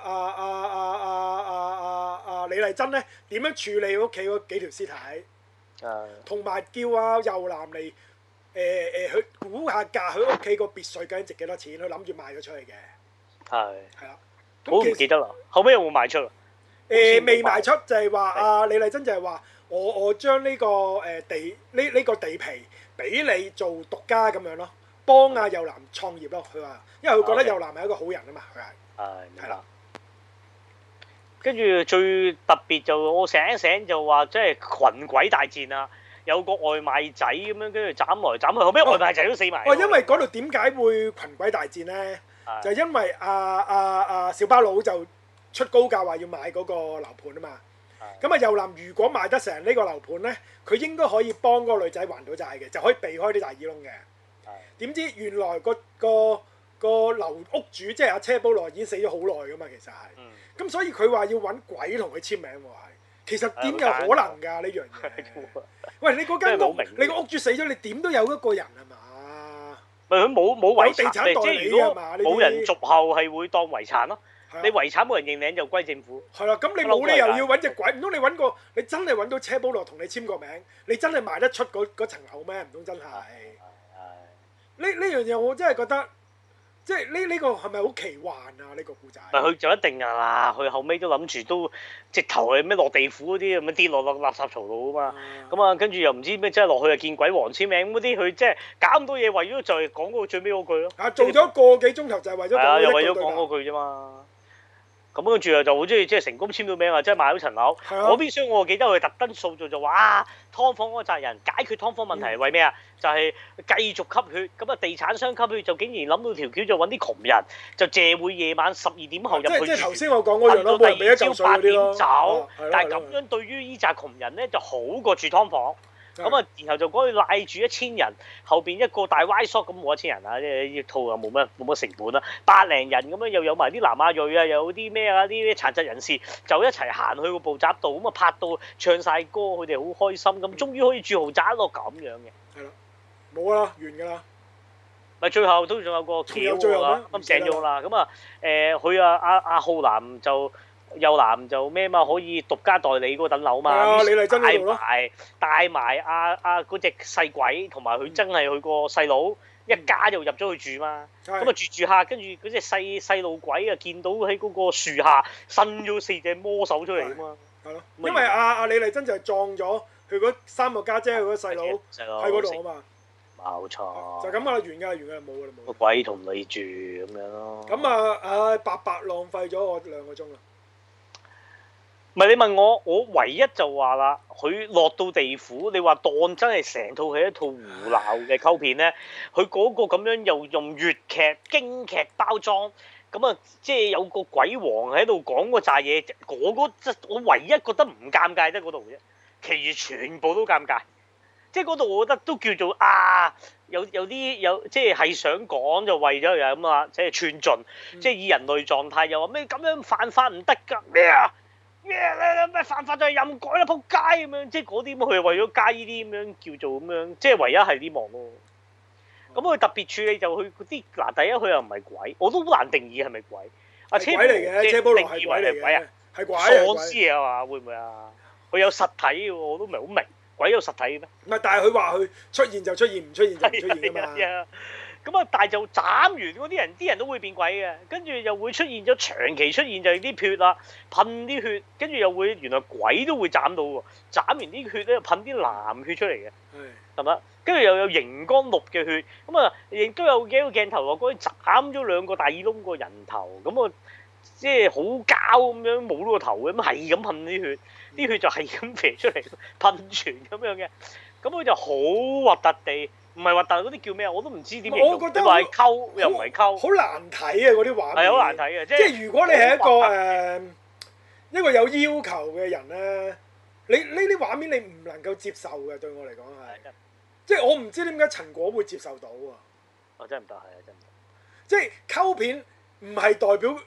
[SPEAKER 2] 李麗珍咧點樣處理屋企嗰幾條屍體，同埋叫右男嚟去估下價，佢屋企個別墅究竟值幾多錢，佢諗住賣咗出去嘅。係啦。
[SPEAKER 1] 我唔記得啦，後尾有冇賣出啊？
[SPEAKER 2] 未賣出，就係話李麗珍就係話我將呢個呢個地皮俾你做獨家咁樣咯，幫右男創業咯。佢話，因為佢覺得右男係一個好人啊嘛，佢係。係啦。
[SPEAKER 1] 跟住最特別就我醒一醒就話，即係群鬼大戰啊！有個外賣仔咁樣，跟住斬來斬去，後尾外賣仔都死埋。
[SPEAKER 2] 因為嗰度點解會群鬼大戰咧？就因為小巴佬就出高價話要買嗰個樓盤啊嘛。咁右男如果賣得成呢個樓盤咧，佢應該可以幫嗰個女仔還到債嘅，就可以避開啲大耳窿嘅。點知原來個樓屋主即係阿車保羅已經死咗好耐噶嘛，其實係。咁所以佢話要揾鬼同佢簽名喎，係。其實點有可能㗎呢樣嘢？喂，你嗰間屋，你個屋主死咗，你點都有一個人係嘛？
[SPEAKER 1] 咪佢冇遺產，
[SPEAKER 2] 即係如果
[SPEAKER 1] 冇人續後係會當遺產咯。你遺產冇人認領就歸政府。
[SPEAKER 2] 係啦，咁你冇理由要揾隻鬼，唔通你你真係揾到車保羅同你簽個名，你真係賣得出嗰層樓咩？唔通真係？呢樣嘢我真係覺得。即係呢個係咪好奇幻啊？呢個故仔
[SPEAKER 1] 咪佢就一定㗎啦！佢後尾都諗住都直頭係咩落地府嗰啲咁樣跌落垃圾槽度啊嘛！咁啊跟住又唔知咩，即係落去啊見鬼王簽名嗰啲，佢即係搞咁多嘢，為咗就係講嗰個最尾嗰句咯。做
[SPEAKER 2] 咗個幾鐘頭就係為咗講
[SPEAKER 1] 又為咗講嗰句啫嘛。咁跟住就好中意即係成功簽到名啊！即係買咗層樓。嗰邊廂我記得佢特登塑造就話劏房嗰個責人解決劏房問題係為咩啊？就係繼續吸血。咁啊地產商吸血就竟然諗到條橋就揾啲窮人就借會夜晚12點後入去住。
[SPEAKER 2] 即係頭先我講嗰樣咯，
[SPEAKER 1] 到第二朝8點走。但係咁樣對於依紮窮人咧就好過住劏房。咁啊，然後就嗰度賴住1000人，後邊一個大歪縮咁冇1000人啊！即係呢套又冇乜成本啦，100零人咁樣又有埋啲南亞裔啊，又有啲咩啊啲殘疾人士就一齊行去個步閘度，咁啊拍到唱晒歌，佢哋好開心咁，終於可以住豪宅咯咁樣嘅。
[SPEAKER 2] 係啦，冇啦，完㗎啦。
[SPEAKER 1] 咪最後都仲有個橋啦，咁醒咗啦，咁啊佢阿浩南就。右男就咩嘛，可以獨家代理嗰等樓嘛，帶埋嗰隻細鬼同埋佢真係佢個細佬一家就入咗去住嘛，咁啊住下，跟住嗰隻細路鬼啊見到喺嗰個樹下伸咗4隻魔手出嚟啊嘛，
[SPEAKER 2] 係咯，因為阿李麗珍就係撞咗佢嗰3個家姐佢嗰細佬喺嗰度啊嘛，
[SPEAKER 1] 冇錯，
[SPEAKER 2] 就咁啦，完㗎，冇㗎啦，冇。
[SPEAKER 1] 個鬼同你住咁樣咯。
[SPEAKER 2] 咁啊白浪費咗我2個鐘啦。
[SPEAKER 1] 唔係你問我，我唯一就話啦，佢落到地府，你話當真係成套係一套胡鬧嘅溝片咧，佢嗰個咁樣又用粵劇京劇包裝，咁啊即係有個鬼王喺度講嗰扎嘢，我唯一覺得唔尷尬得嗰度啫，其餘全部都尷尬。即係嗰度我覺得都叫做有啲即係想講就為咗又咁啊，即係串盡，即係以人類狀態又話咩咁樣犯法唔得㗎咩啊？咩犯法就係任改啦，仆街咁樣，即係嗰啲咁，佢係為咗加呢啲咁樣叫做咁樣，即係唯一係呢幕咯。咁佢特別處理就佢嗰啲嗱，第一佢又唔係鬼，我都好難定義係咪鬼。阿車
[SPEAKER 2] 鬼嚟嘅，車保羅係鬼嚟嘅，係鬼
[SPEAKER 1] 喪屍啊嘛？會唔會啊？佢有實體嘅喎，我都唔係好明，鬼有實體嘅咩？
[SPEAKER 2] 唔係，但係佢話佢出現就出現，唔出現就唔出現㗎嘛。
[SPEAKER 1] 咁啊，但係就斬完嗰啲人都會變鬼嘅，跟住又會出現咗長期出現就係啲血啦，噴啲血，跟住又會原來鬼都會斬到喎，斬完啲血咧噴啲藍血出嚟嘅，係咪？跟住又有熒光綠嘅血，咁啊亦都有幾個鏡頭話嗰啲斬咗2個大耳窿個人頭，咁啊即係好膠咁樣冇咗個頭嘅，咁係咁噴啲血，啲血就係咁飛出嚟噴泉咁樣嘅，咁佢就好核突地。唔係核突嗰啲叫咩啊？我都唔知點形容。我覺得話係溝又唔係溝。
[SPEAKER 2] 好難睇啊！嗰啲畫面。係
[SPEAKER 1] 好難睇嘅，即
[SPEAKER 2] 係如果你係一個有要求嘅人咧，你呢啲畫面你唔能夠接受嘅，對我嚟講係。即係我唔知點解陳果會接受到啊！
[SPEAKER 1] 真係唔得，係啊，真係唔得。
[SPEAKER 2] 即係溝片唔係代表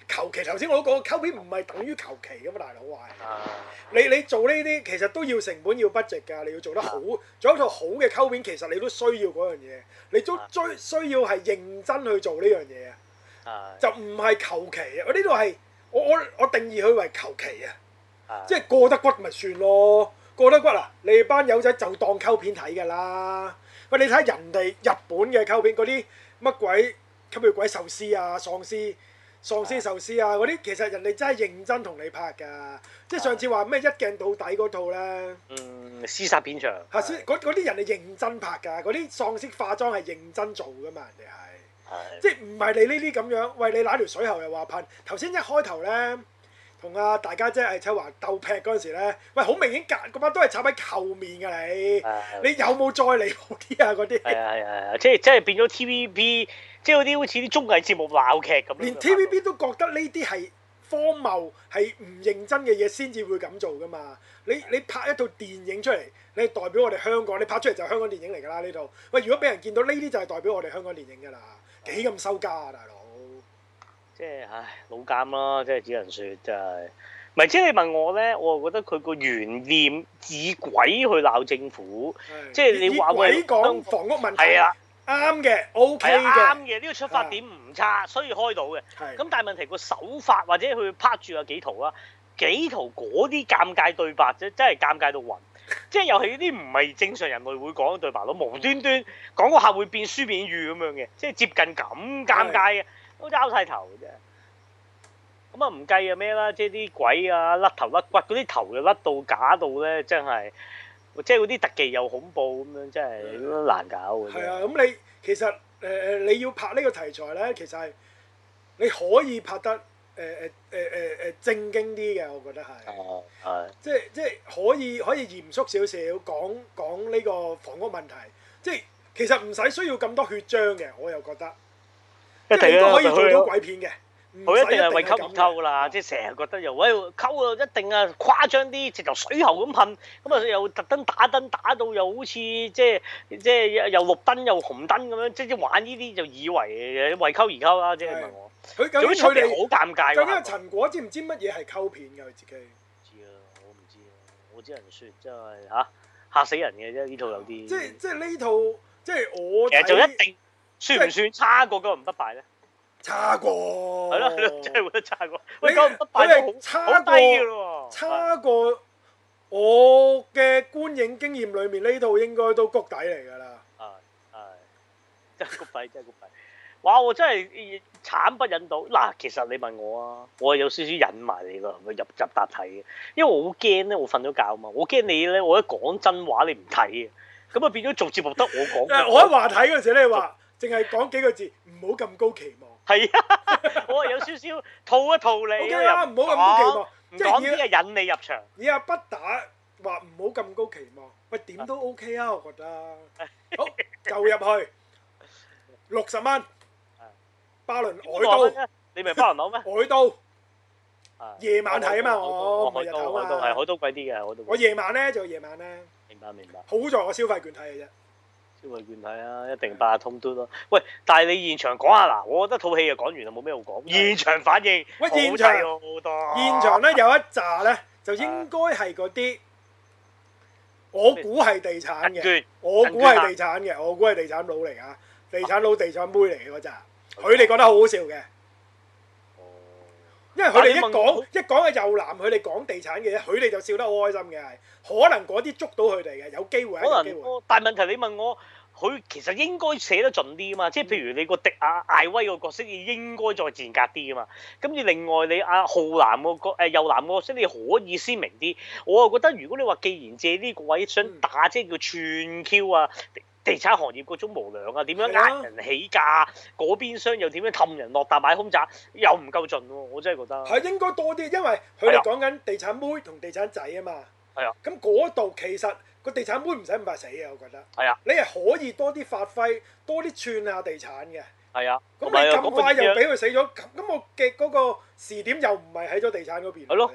[SPEAKER 2] 求其。頭先我都講溝片唔係等於求其噶嘛，大佬係。你做呢啲其實都要成本要 budget 㗎，你要做得好，做一套好嘅溝片，其實你都需要嗰樣嘢，你都需要係認真去做呢樣嘢啊。就唔係求其啊！我呢度係我定義佢為求其啊，即係過得骨咪算咯，過得骨啊！你班友仔就當溝片睇㗎啦。喂，你睇人哋日本嘅溝片嗰啲乜鬼吸血鬼壽司啊、喪屍壽司啊嗰啲，其實人哋真係認真同你拍㗎。即係上次話咩一鏡到底嗰套咧，
[SPEAKER 1] 屍殺片場。
[SPEAKER 2] 嗰啲人哋認真拍㗎，嗰啲喪屍化妝係認真做㗎嘛，人哋係。即係唔係你呢啲咁樣？喂，你揦條水喉又話噴。頭先一開頭咧，同阿大家姐魏秋華鬥劈嗰陣時咧，喂，好明顯嗰班都係插喺後面㗎你。你有冇再離譜啲啊？嗰啲
[SPEAKER 1] 係即係變咗 TVB，即係嗰啲好似啲綜藝節目鬧劇咁。
[SPEAKER 2] 連 TVB 都覺得呢啲係荒謬，係唔認真嘅嘢先至會咁做㗎嘛。你拍一套電影出嚟，你係代表我哋香港，你拍出嚟就係香港電影嚟㗎啦呢套。喂，如果俾人見到呢啲就係代表我哋香港電影㗎啦。幾咁收家啊，大佬！
[SPEAKER 1] 即係老監啦，即係只能説真係。唔係即係你問我咧，我就覺得佢個懸念以鬼去鬧政府，即係你話
[SPEAKER 2] 鬼講房屋問題
[SPEAKER 1] 係啊，
[SPEAKER 2] 啱嘅 OK 嘅，
[SPEAKER 1] 啱嘅呢個出發點唔差，所以開到嘅。咁但係問題個手法或者佢拍住有幾圖啦，幾圖嗰啲尷尬對白真係尷尬到暈。即係又係啲唔係正常人類會講嘅對白咯，無端端講個客會變書變語咁樣嘅，即係接近咁尷尬嘅，都拗晒頭嘅啫。咁啊唔計啊咩啦，即係啲鬼啊甩頭甩骨嗰啲頭又甩到假到咧，真係即係嗰啲特技又恐怖咁樣，真係難搞嘅。
[SPEAKER 2] 係啊，咁你其實你要拍呢個題材咧，其實係你可以拍得。正經啲嘅，我覺得係，即係可以嚴肅少少講呢個房屋問題，即係其實唔使需要咁多血漿嘅，我又覺得，即係你都可以做到鬼片嘅，
[SPEAKER 1] 佢一定係為溝而溝啦，即係成日覺得又喂溝啊，一定啊誇張啲，直頭水喉咁噴，咁啊又特登打燈打到又好似即係又綠燈又紅燈咁樣，即係玩呢啲就以為為溝而溝啦，即係問我。
[SPEAKER 2] 究竟佢哋
[SPEAKER 1] 好尷尬。
[SPEAKER 2] 究竟陳果知唔知乜嘢係溝片㗎？佢自己
[SPEAKER 1] 知啊，我唔知啊，我只能説真係嚇死人嘅啫，呢套有啲。
[SPEAKER 2] 即係呢套，即係我。
[SPEAKER 1] 其實就一定算唔算差過《九唔不敗》咧？
[SPEAKER 2] 差過。
[SPEAKER 1] 係咯，真係會得差過。喂，《九唔不敗》都好低㗎咯喎。
[SPEAKER 2] 差過我嘅觀影經驗裏面，呢套應該都谷底嚟㗎啦。
[SPEAKER 1] 係真係谷底，真係谷底。哇！我真係慘不忍睹嗱，其實你問我啊，我係有少少忍埋你咯，入搭睇嘅，因為我好驚咧，我瞓咗覺啊嘛，我驚你咧，我一講真話你唔睇嘅，咁啊變咗做節目得我講。
[SPEAKER 2] 我喺話睇嗰陣時咧，話淨係講幾個字，唔好咁高期望。
[SPEAKER 1] 係啊，我係有少少套一套你。
[SPEAKER 2] O K 啦，唔好咁高期望，
[SPEAKER 1] 唔講啲係引你入場。
[SPEAKER 2] 以阿不打話唔好咁高期望，喂點都 O K 啊，我覺得。好就入去60蚊。巴倫海盜，
[SPEAKER 1] 你咪巴倫島咩？
[SPEAKER 2] 海盜，夜晚睇啊嘛，我唔係日頭啊。
[SPEAKER 1] 係海盜貴啲嘅，海盜。
[SPEAKER 2] 我夜晚咧就夜晚咧。
[SPEAKER 1] 明白。
[SPEAKER 2] 好在我消費券睇嘅啫。
[SPEAKER 1] 消費券睇啊，一定八達通嘟咯。喂，但係你現場講下嗱，我覺得套戲就講完啦，冇咩好講。現場反應，
[SPEAKER 2] 喂，現場
[SPEAKER 1] 好多。
[SPEAKER 2] 現場咧有一紮咧，就應該係嗰啲，我估係地產嘅，我估係地產佬嚟㗎，地產佬、地產妹嚟嘅嗰紮。佢哋覺得好好笑嘅，因為佢哋一講嘅又男，佢哋講地產嘅，佢哋就笑得好開心嘅，係可能嗰啲捉到佢哋嘅，有機會係有機會。
[SPEAKER 1] 但係問題你問我，佢其實應該寫得盡啲啊嘛，即係譬如你個迪亞艾威個角色，你應該再賤格啲啊嘛。咁而另外你阿浩南個右男個角色，你可以鮮明啲。我又覺得如果你話既然借呢個位想打，即係叫串 Q 啊。地產行業嗰種無良啊，點樣呃人起價？嗰邊商又點樣氹人落搭買空宅，又唔夠盡喎！我真係覺得
[SPEAKER 2] 係應該多啲，因為佢哋講緊地產妹同地產仔啊嘛。
[SPEAKER 1] 係啊。
[SPEAKER 2] 咁嗰度其實個地產妹唔使咁快死嘅，我覺得。
[SPEAKER 1] 係啊。
[SPEAKER 2] 你係可以多啲發揮，多啲串下地產嘅。
[SPEAKER 1] 係啊。
[SPEAKER 2] 咁你咁快又俾佢死咗，咁我嘅嗰個時點又唔係喺咗地產嗰邊。
[SPEAKER 1] 係咯。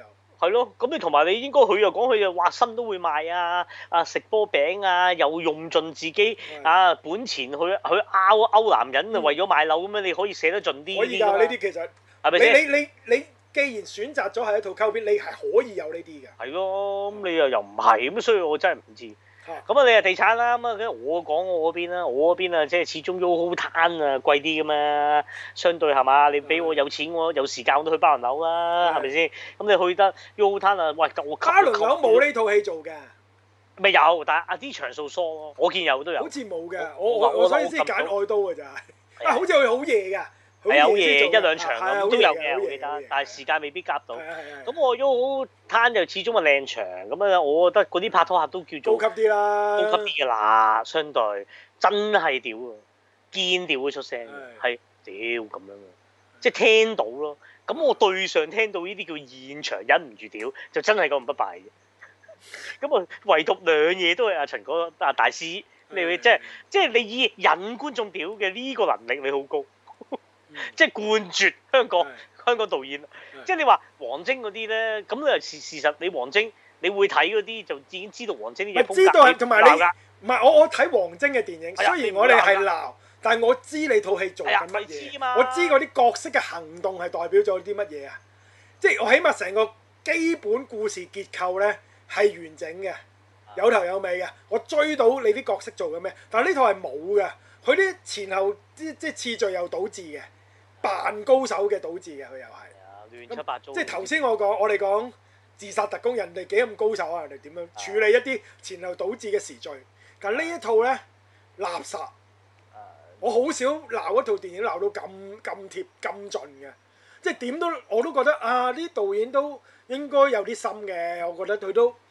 [SPEAKER 1] 係咯，咁你同埋你應該佢又講佢又話身都會賣啊食波餅啊，又用盡自己本錢去勾男人啊，為咗買樓咁樣，你可以寫得盡啲。
[SPEAKER 2] 可以㗎，呢啲其實係咪先？你既然選擇咗係一套溝片，你係可以有呢啲嘅。係
[SPEAKER 1] 咯，咁你又唔係咁，所以我真係唔知。咁啊，你係地產啦，咁啊，我講我嗰邊啦，我嗰邊啊，即係始終 YOHO Town啊貴啲㗎嘛，相對係嘛？你俾我有錢，我有時間我都去巴倫樓啦，係咪先？咁你去得 YOHO Town啊？喂，我
[SPEAKER 2] 巴倫樓冇呢套戲做嘅。
[SPEAKER 1] 咪有，但係啲場數疏咯，我見有都有。
[SPEAKER 2] 好似冇嘅，我所以先揀愛都嘅咋。好似佢好夜㗎。
[SPEAKER 1] 係好夜一兩場咁都有嘅，我記得，但係時間未必夾到。咁我 YOHO Town就始終係靚場，咁啊，我覺得嗰啲拍拖客都叫做
[SPEAKER 2] 高級啲啦，
[SPEAKER 1] 高級啲㗎啦，相對真係屌啊，堅屌會出聲，係屌咁樣啊，即係聽到咯。咁我對上聽到呢啲叫現場忍唔住屌，就真係咁不敗嘅。咁啊，唯獨兩嘢都係阿陳哥大師，你會即係你以引觀眾屌嘅呢個能力，你好高。即係冠絕香港導演，即係你話王晶嗰啲咧，咁你事實你王晶你會睇嗰啲就已經知道王晶啲嘢風格。知道
[SPEAKER 2] 同埋你唔係我睇王晶嘅電影，雖然我哋係鬧，但係我知你套戲做緊乜嘢，我知嗰啲角色嘅行動係代表咗啲乜嘢啊！即係我起碼成個基本故事結構咧係完整嘅，有頭有尾嘅，我追到你啲角色做緊咩，但係呢套係冇嘅，佢啲前後即係次序又倒置嘅。扮高手嘅倒置嘅佢又係，
[SPEAKER 1] 亂七八糟。
[SPEAKER 2] 即係頭先我哋講自殺特攻，人哋幾咁高手啊？人哋點樣處理一啲前後倒置嘅時序？但係呢一套咧垃圾，我好少鬧一套電影鬧到咁貼咁盡嘅，即係點都我都覺得啊！啲導演都應該有啲心嘅，我覺得佢都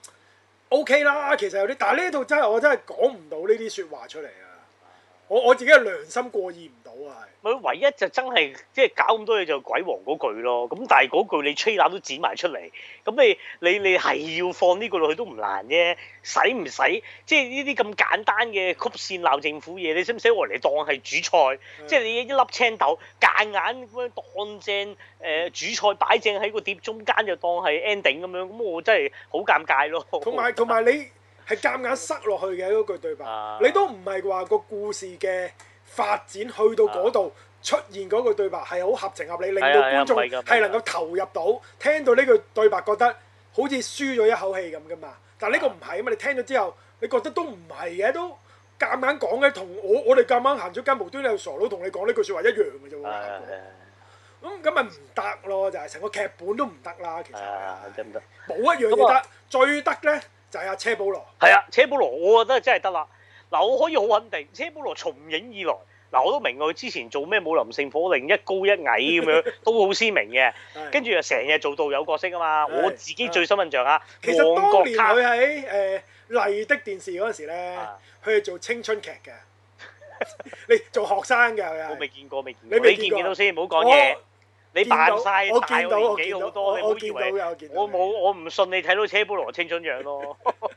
[SPEAKER 2] OK 啦。其實有啲，但係呢套真係我真係講唔到呢啲説話出嚟啊！我自己嘅良心過意唔到啊，係。
[SPEAKER 1] 咪唯一就真係即係搞咁多嘢就鬼王嗰句咯，咁但係嗰句你吹 r 都剪埋出嚟，咁你係要放呢個落去都唔難啫，使唔使？即係呢啲咁簡單嘅曲線鬧政府嘢，你使唔使攞嚟當係主菜？即係你一粒青豆夾硬咁樣當正主菜擺正喺個碟中間就當係 ending 咁樣，咁我真係好尷尬咯。
[SPEAKER 2] 同埋你。係夾硬塞落去嘅嗰句對白，你都唔係話個故事嘅發展去到嗰度出現嗰句對白係好合情合理，令到觀眾係能夠投入到，聽到呢句對白覺得好似舒咗一口氣咁噶嘛。但係呢個唔係啊嘛，你聽咗之後，你覺得都唔係嘅，都夾硬講嘅，同我哋夾硬行出街無端有傻佬同你講呢句説話一樣嘅啫喎。咁咪唔得咯，就係成個劇本都唔得啦。其實
[SPEAKER 1] 得唔得？
[SPEAKER 2] 冇一樣嘢得，最得咧。就係阿車保羅，
[SPEAKER 1] 係啊，車保羅，我覺得真係得啦。嗱，我可以好肯定，車保羅從影以來，嗱我都明佢之前做咩武林聖火令一高一矮咁樣，都好鮮明嘅。跟住又成日做導遊角色啊嘛。我自己最深印象啊，
[SPEAKER 2] 其實當年佢喺麗的電視嗰陣時咧，佢係做青春劇嘅，你做學生嘅佢係。
[SPEAKER 1] 我未見過，你見唔見到先？唔好講嘢。你扮晒大我年紀好多，你唔好以為我唔信你睇到車保羅青春樣咯。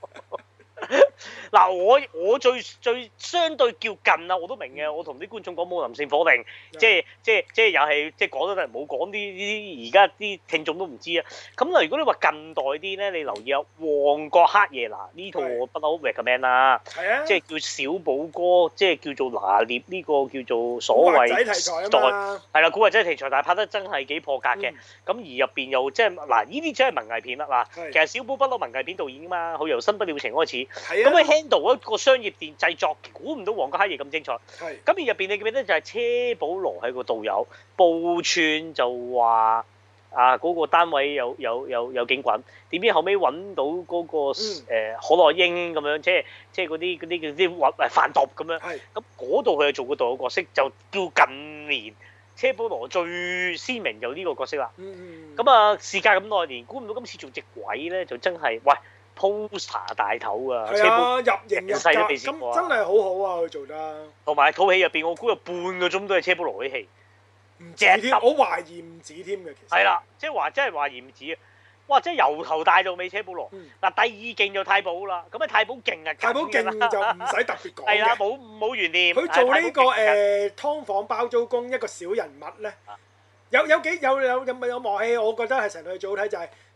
[SPEAKER 1] 嗱，我最相對叫近啊，我都明嘅。我同啲觀眾講武林聖火令，即係又係即係講得唔好講啲而家啲聽眾都唔知啊。咁嗱，如果你話近代啲咧，你留意下《旺角黑夜》嗱，呢套我不嬲 recommend 啦，即係叫小寶哥，即係叫做拿捏呢個叫做所謂係啦，古惑仔題材，但係拍得真係幾破格嘅。咁而入邊又即係嗱，呢啲真係文藝片啦嗱。其實小寶不嬲文藝片導演㗎嘛，佢由新不了情開始。咁佢 handle 一個商業電製作，估唔到《旺角黑夜》咁精彩。咁而入邊你記唔記得就係車保羅係個導遊，報串就話嗰個單位有警棍，點知後尾揾到嗰個可樂英咁樣，即係嗰啲販毒咁樣。咁嗰度佢係做個導遊角色，就叫近年車保羅最鮮明就呢個角色啦。咁啊，事隔咁多年，估唔到今次做隻鬼咧，就真係喂〜poster 大頭啊！
[SPEAKER 2] 係啊，入型入格，咁真係好好啊！佢做得。同
[SPEAKER 1] 埋套戲入邊，我估有半個鐘都係車保羅啲戲，
[SPEAKER 2] 唔止添，我懷疑唔止添嘅。其實係
[SPEAKER 1] 啦，即係話真係懷疑唔止啊！哇！即係由頭帶到尾車保羅。嗱，第二勁就太保啦，咁啊太保勁啊！
[SPEAKER 2] 太保勁就唔使特別講嘅。
[SPEAKER 1] 係啦，冇懸念。
[SPEAKER 2] 佢做呢個劏房包租公一個小人物咧，有幕戲，我覺得係成套戲最好睇就係。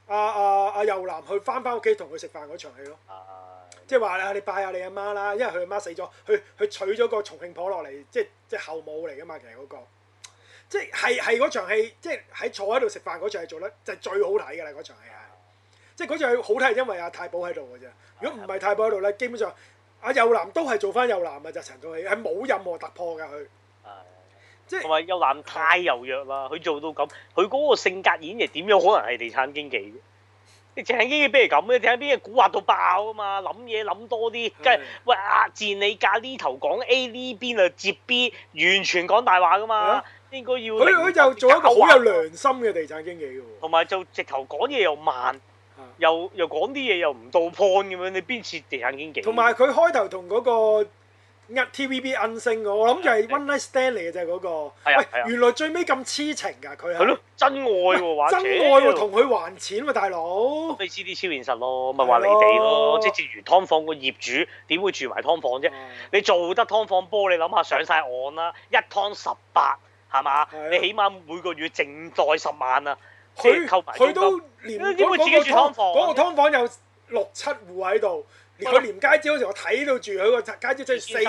[SPEAKER 2] 阿右男去翻屋企同佢食飯嗰場戲咯。即係話你拜下你阿媽啦，因為佢阿媽死咗，佢娶咗個重慶婆落嚟，即係後母嚟噶嘛，其實嗰個。即係嗰場戲，即係喺坐喺度食飯嗰場戲做得就係最好睇㗎啦！嗰場戲係，即係嗰場戲好睇係因為阿太保喺度㗎啫。如果唔係太保喺度咧，基本上阿右男都係做翻右男嘅就成套戲係冇任何突破㗎佢。即係
[SPEAKER 1] 同埋右男太柔弱啦，佢做到咁，佢嗰個性格演繹點樣可能係地產經紀啫？你地產經紀邊係咁嘅？地產經紀蠱惑到爆啊嘛，諗嘢諗多啲，跟住喂賤你價呢頭講 A 呢邊啊接 B， 完全講大話㗎嘛。應該要
[SPEAKER 2] 佢就做一個好有良心嘅地產經紀嘅喎，
[SPEAKER 1] 同埋就直頭講嘢又慢，又講啲嘢又唔到 point 咁樣，你邊似地產經紀？
[SPEAKER 2] 同埋佢開頭同嗰個TVB 恩星我諗就係 One Night Stand 嚟嘅啫嗰個。喂，原來最尾咁痴情㗎佢係。係咯，真愛喎，真愛喎，同佢還錢喎大佬。你知啲超現實咯，咪話離地咯，即係正如劏房個業主點會住埋劏房啫？你做得劏房波，你諗下上晒岸啦，一劏18。係嘛？你起碼每個月淨袋10萬啊！佢都連嗰個劏房有6、7戶喺度，連佢連街招嗰時我睇到住佢個街招即係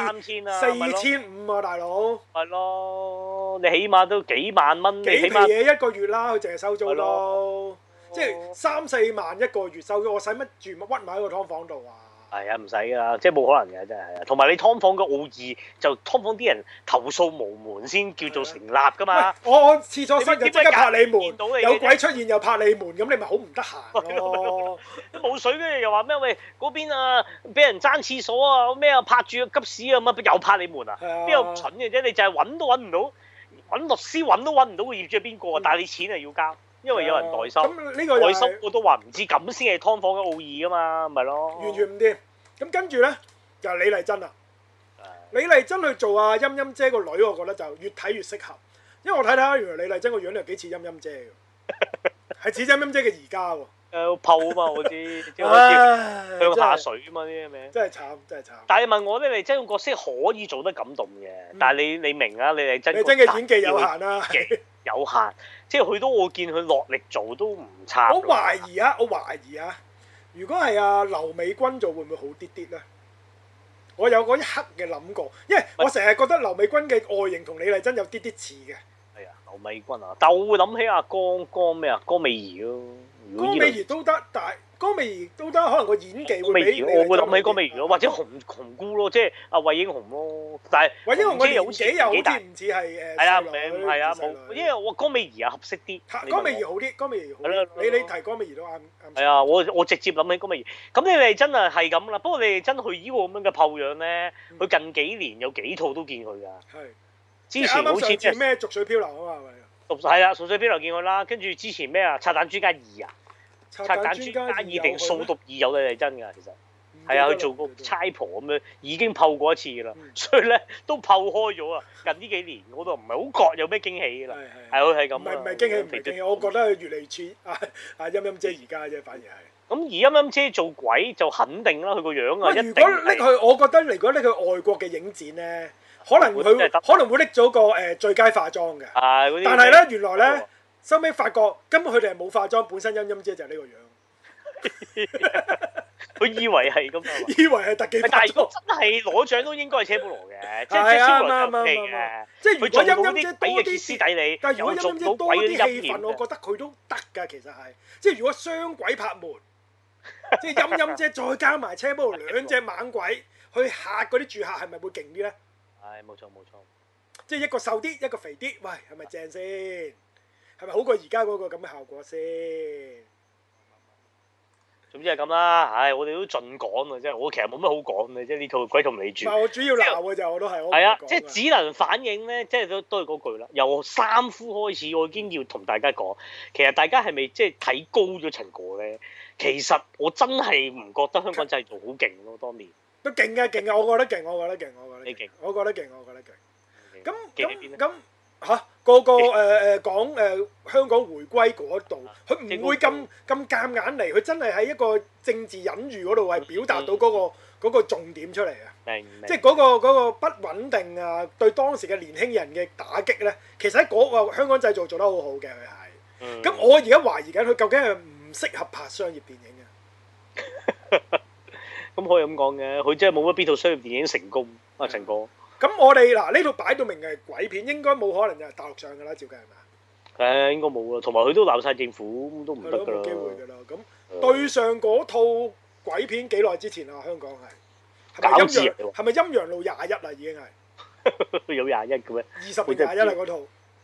[SPEAKER 2] 4500啊大佬！
[SPEAKER 1] 係咯，你起碼都幾萬蚊，
[SPEAKER 2] 幾皮嘢一個月啦，佢淨係收租咯，即係3、4萬一個月收租，我使乜住屈埋喺個劏房度啊？係啊，唔使㗎啦，即係冇可能嘅，真係。同埋你劏房嘅奧義，就劏房啲人投訴無門先叫做成立㗎嘛。我廁所塞就即刻拍你門，有鬼出現又拍你門，咁你咪好唔得閒咯。都冇水嘅又話咩？喂，嗰邊啊，俾人爭廁所啊，咩啊拍住個急屎啊，乜又拍你門啊？邊有蠢嘅啫？你就係揾都揾唔到，揾律師揾都揾唔到個業主係邊個啊？但係你錢係要交。因為有人代收，代收我都話唔知，咁先係劏房嘅奧義㗎嘛，咪咯。完全唔掂。咁跟住咧就係李麗珍啦。李麗珍去做阿陰陰姐個女，我覺得就越睇越適合，因為我睇睇原來李麗珍個樣又幾似陰陰姐嘅，係似陰陰姐嘅而家喎。泡啊嘛，我知，即係好似向下水啊嘛啲咩？真係慘，真係慘。但係問我咧，李麗珍個角色可以做得感動嘅，但係你明啊？李麗珍嘅演技有限啦。有限，即係佢都我見佢落力做都唔差。我懷疑啊，如果係阿劉美君做會唔會好啲啲咧？我有嗰一刻嘅諗過，因為我成日覺得劉美君嘅外形同李麗珍有啲啲似嘅。係啊，劉美君啊，但我會諗起阿江咩啊？江美儀咯。江美儀都得，但係江美儀都得，可能個演技會比我會諗起江美儀咯，或者紅姑咯，即係阿惠英紅咯。但係惠英紅嘅年紀又好似唔似係係啊，唔係啊，冇，因為我江美儀啊合適啲。江美儀好啲，江美儀好啲。你提江美儀都啱。係啊，我直接諗起江美儀。咁你哋真係係咁啦，不過你哋真去依個咁樣嘅炮樣咧，佢近幾年有幾套都見佢㗎。係。之前好似咩《濁水漂流》啊嘛，係咪？係啊，《濁水漂流》見佢啦，跟住之前咩啊，《拆彈專家2》啊，《拆彈專家2》定《掃毒2》有李麗珍㗎，其實係啊，佢做過差婆咁樣，已經泡過一次㗎啦，所以咧都泡開咗啊！近呢幾年我都唔係好覺有咩驚喜㗎啦，係佢係咁。唔係驚喜，唔係驚喜，我覺得佢越嚟越似阿陰陰姐而家啫，反而係。咁而陰陰姐做鬼就肯定啦，佢個樣啊，如果拎佢，我覺得如果拎佢外國嘅影展咧。可能會拎咗個最佳化妝嘅，但係咧原來咧收尾發覺根本佢哋係冇化妝，本身陰陰姐就係呢個樣。佢以為係咁啊，以為係特技化妝。但係如果真係攞獎都應該係車保羅嘅，即係車保羅就嘅。即係如果陰陰姐多啲歇斯底里，但係如果陰陰姐多啲戲份，我覺得佢都得㗎。其實係，即係如果雙鬼拍門，即係陰陰姐再加埋車保羅兩隻猛鬼去嚇嗰啲住客，係咪會勁啲咧？係冇錯冇錯，即係一個瘦啲，一個肥啲，喂，係咪正先？係咪好過而家嗰個咁嘅效果先？總之係咁啦，唉，我哋都盡講啊，即係我其實冇乜好講嘅，即係呢套鬼同你住。我主要鬧嘅就我都係，係啊，即係只能反映咧，即係都係嗰句啦。由三夫開始，我已經要同大家講，其實大家係咪即係睇高咗陳果咧？其實我真係唔覺得香港製造好勁咯，當年。都勁嘅，勁嘅，我覺得勁，我覺得勁，我覺得勁，我覺得勁，我覺得勁。咁嚇個講香港回歸嗰度，佢唔會咁夾硬嚟，佢真係喺一個政治隱喻嗰度係表達到嗰個重點出嚟啊！即係嗰個不穩定啊，對當時嘅年輕人嘅打擊咧，其實喺嗰個香港製造做得好好嘅佢係。咁我而家懷疑緊佢究竟係唔唔適合拍商業電影嘅。
[SPEAKER 1] 咁可以咁講嘅，佢真係冇乜邊套商業電影成功啊，陳哥。
[SPEAKER 2] 咁我哋嗱呢套擺到明係鬼片，應該冇可能就係大陸上㗎啦，照計係咪啊？
[SPEAKER 1] 應該冇啦，同埋佢都鬧晒政府，都唔得㗎啦。
[SPEAKER 2] 冇機會㗎啦。咁對上嗰套鬼片幾耐之前啊？香港係咪陰陽路21啊？已經係
[SPEAKER 1] 有21嘅咩
[SPEAKER 2] ？20定21啦嗰套。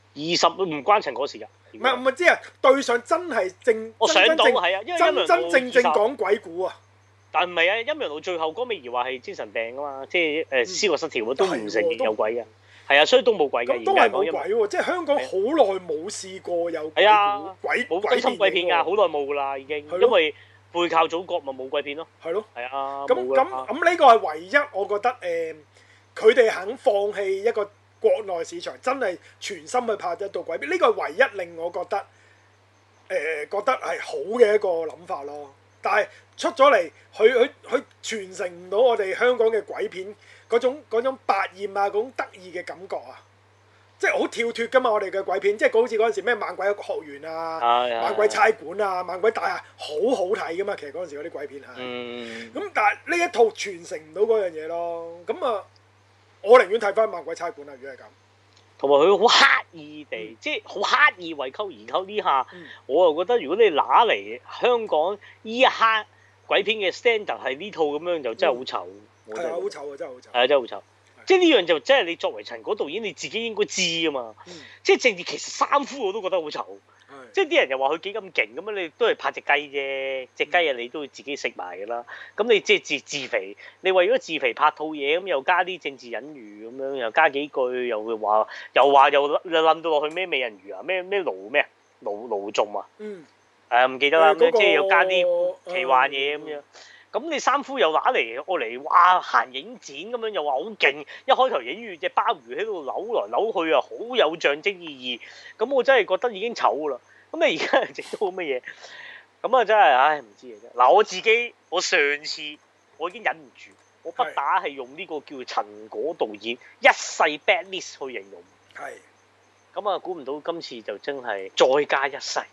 [SPEAKER 1] 20唔關陳嗰事㗎。
[SPEAKER 2] 唔係即係對上真係
[SPEAKER 1] 我上到係啊，因為
[SPEAKER 2] 真正講鬼故啊。
[SPEAKER 1] 但唔係啊，陰陽路最後嗰尾兒話係精神病啊嘛，即係思覺失調都唔承認有鬼嘅。係啊，所以都冇鬼嘅。
[SPEAKER 2] 都係冇鬼喎，即係香港好耐冇試過有鬼故
[SPEAKER 1] 冇真心鬼片㗎，好耐冇㗎啦已經，因為背靠祖國咪冇鬼片咯。係咯。係啊。
[SPEAKER 2] 咁呢個係唯一我覺得佢哋肯放棄一個國內市場，真係全心去拍一套鬼片，呢個係唯一令我覺得係好嘅一個諗法咯。但係出咗嚟，佢傳承唔到我哋香港嘅鬼片嗰種百厭啊，嗰種得意嘅感覺啊，即係好跳脱㗎嘛！我哋嘅鬼片，即係好似嗰陣時咩猛鬼學園啊、猛鬼差館啊、猛鬼大廈，好好睇㗎嘛！其實嗰陣時嗰啲鬼片係，咁但係呢一套傳承唔到嗰樣嘢咯。咁啊，我寧願睇翻猛鬼差館啊！如果係咁。
[SPEAKER 1] 同埋佢好刻意地，即係好刻意為溝而溝呢下，我又覺得如果你拿嚟香港依一刻鬼片嘅 standard 係呢套咁樣，就真係好醜。
[SPEAKER 2] 係啊，好醜啊！真係好醜。
[SPEAKER 1] 係啊，真係好醜。即係呢樣就真係你作為陳果導演，你自己應該知啊嘛。即係正義其實三夫我都覺得好醜。即係啲人又話佢幾咁勁咁樣，你都係拍隻雞啫，隻雞啊你都要自己食埋㗎啦。咁你即係自肥，你為咗自肥拍套嘢，咁又加啲政治隱喻咁樣，又加幾句，又冧到落去咩美人魚啊，咩盧仲啊，唔記得啦，即係又加啲奇幻嘢咁樣。咁你三夫又拿嚟我嚟，哇行影展咁樣又話好勁，一開頭影住隻鮑魚喺度扭來扭去啊，好有象徵意義。咁我真係覺得已經醜啦。咁你而家又整到乜嘢？咁啊真係，唉唔知啊真。嗱我上次我已經忍唔住，我不打係用呢個叫陳果導演一世 bad list 去形容。係。咁啊估唔到今次就真係再加一世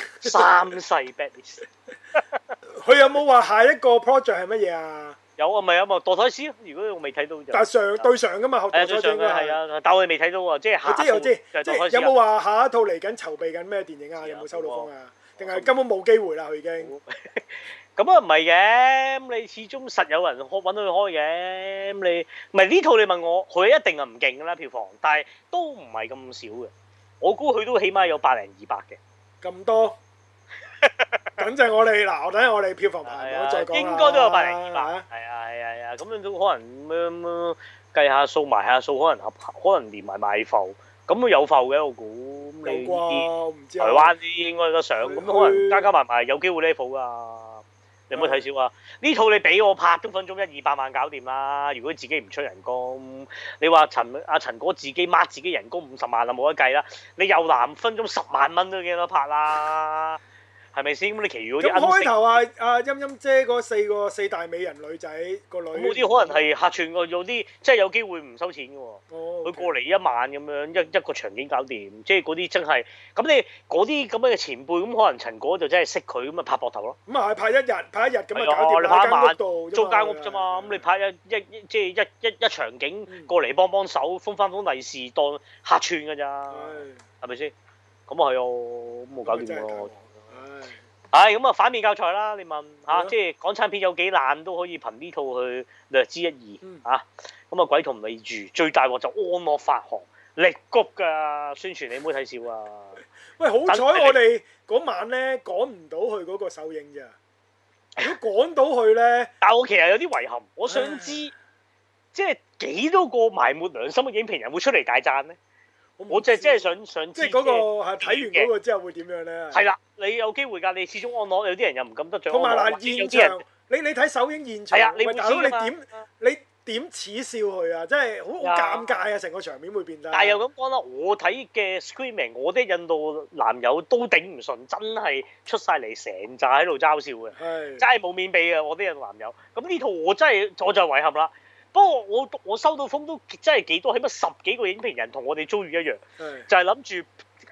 [SPEAKER 1] 3世 bad list。
[SPEAKER 2] 佢有冇話下一個 project 係乜嘢啊？
[SPEAKER 1] 有啊，咪墮胎師咯。如果我未睇到就。
[SPEAKER 2] 但係對上㗎嘛，墮胎師
[SPEAKER 1] 係啊，但我哋未睇到喎，即係下。
[SPEAKER 2] 我知，即係有冇話下一套嚟緊籌備緊咩電影啊？有冇收到風啊？定係根本冇機會啦？佢已經。
[SPEAKER 1] 咁啊唔係嘅，咁你始終實有人揾到佢開嘅，咁你唔係呢套你問我，佢一定係唔勁㗎啦票房，但係都唔係咁少嘅，我估佢都起碼有100-200嘅。
[SPEAKER 2] 咁多？等陣我哋嗱，等陣我哋票房排行再講啦。應該都有
[SPEAKER 1] 100-200。係啊，咁樣都可能咁計下數埋下數，可能連埋賣埠，咁都有埠嘅我估。
[SPEAKER 2] 有啩？我唔知。
[SPEAKER 1] 台灣啲應該得上，咁可能加埋有機會 level 㗎。你有冇睇少啊？呢套你俾我拍都分鐘100-200萬搞掂啦。如果自己唔出人工，你話陳果自己掹自己人工50萬啊，冇得計啦。你又南分鐘10萬蚊都幾多拍啦？係咪先？咁你其餘嗰啲
[SPEAKER 2] 咁開頭阿陰陰姐嗰四大美人女仔個女，
[SPEAKER 1] 咁嗰啲可能係客串個，有啲即係有機會唔收錢嘅喎。佢過嚟1萬咁樣一個場景搞掂，即係嗰啲真係咁你嗰啲咁樣嘅前輩，咁可能陳果就真係識佢咁啊拍膊頭咯。
[SPEAKER 2] 咁啊係拍一日咁啊搞掂，
[SPEAKER 1] 你拍一晚
[SPEAKER 2] 租
[SPEAKER 1] 間屋啫嘛。咁你拍即係一場景過嚟幫手，封翻封利是當客串㗎咋，係咪先？咁啊係哦，咁冇搞掂喎。咁啊反面教材啦！你問嚇，即係港產片有幾爛都可以憑呢套去略知一二嚇。咁啊鬼同你住，最大鑊就安樂發行力谷㗎宣傳，你唔好睇少啊！
[SPEAKER 2] 喂，好彩我哋嗰晚咧趕唔到去嗰個首映咋。如果趕到去咧，
[SPEAKER 1] 但係我其實有啲遺憾，我想知即係幾多個埋沒良心嘅影評人會出嚟大讚咧？我就真係想知，
[SPEAKER 2] 即係嗰個係睇完嗰個之後會點樣咧？
[SPEAKER 1] 係啦，你有機會㗎，你始終安樂有啲人又唔敢得獎。
[SPEAKER 2] 同埋嗱，現場你睇首映現場，
[SPEAKER 1] 喂大佬
[SPEAKER 2] 你點恥笑佢啊？真係好尷尬啊！成個場面會變得。
[SPEAKER 1] 但係又咁講啦，我睇嘅 Screaming，我啲印度男友都頂唔順，真係出晒嚟成扎喺度嘲笑嘅，真係冇面俾嘅我啲印度男友。咁呢套我就遺憾啦。不過我收到風都真係幾多，起碼10幾個影評人同我哋遭遇一樣，就係諗住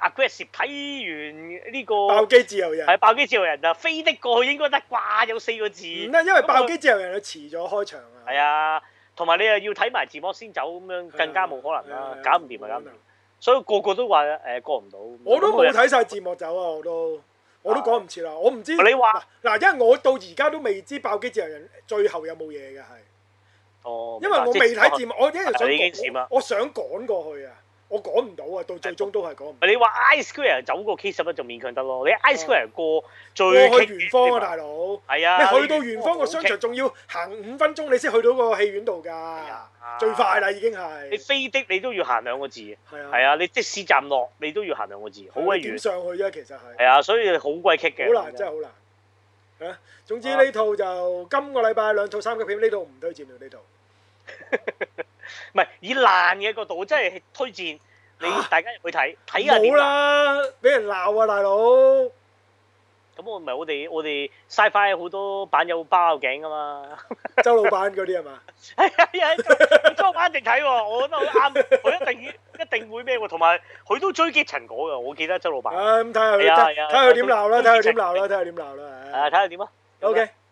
[SPEAKER 1] aggressive 睇完呢個
[SPEAKER 2] 爆機自由人
[SPEAKER 1] 係爆機自由人啊，飛的過去應該得啩，有4個字。
[SPEAKER 2] 唔得，因為爆機自由人佢遲咗開場啊。
[SPEAKER 1] 係啊，同埋你又要睇埋字幕先走咁樣，更加冇可能啦，搞唔掂啊，搞唔掂。所以個個都話過唔到。
[SPEAKER 2] 我都冇睇晒字幕走啊，我都講唔切啦，我唔知。
[SPEAKER 1] 你話
[SPEAKER 2] 嗱，因為我到而家都未知爆機自由人最後有冇嘢嘅係。
[SPEAKER 1] 哦。
[SPEAKER 2] 因為我未睇字幕，我一直
[SPEAKER 1] 想
[SPEAKER 2] 我想趕過去啊，我趕唔到啊，到最終都係趕唔到。
[SPEAKER 1] 你話 I Square 走過 K11就勉強得咯，你 I Square 過
[SPEAKER 2] 去圓方啊，大佬。係啊。你去到圓方個商場仲要行5分鐘，你先去到個戲院度㗎。最快啦，已經係。你
[SPEAKER 1] 飛的你都要行2個字。
[SPEAKER 2] 係啊。
[SPEAKER 1] 係啊，你的士站落你都要行2個字，好鬼遠。
[SPEAKER 2] 點上去啫？其實係。
[SPEAKER 1] 係啊，所以好鬼棘嘅。
[SPEAKER 2] 好難，真係好難。啊，總之呢套就今個禮拜2套3級片，呢套唔推薦啦，呢套。
[SPEAKER 1] 唔係以爛嘅角度，我真係推薦你大家入去睇下點。
[SPEAKER 2] 冇啦，俾人鬧啊，大佬！
[SPEAKER 1] 咁我唔係我哋 Sci-Fi 好多版友包頸噶嘛。
[SPEAKER 2] 周老闆嗰啲係嘛？
[SPEAKER 1] 係啊，周老闆一定睇喎，我覺得好啱，佢一定會咩喎，同埋佢都追擊陳果㗎，我記得周老闆。
[SPEAKER 2] 咁睇下佢點鬧啦，睇下佢點鬧啦。
[SPEAKER 1] 睇下點啊。
[SPEAKER 2] OK。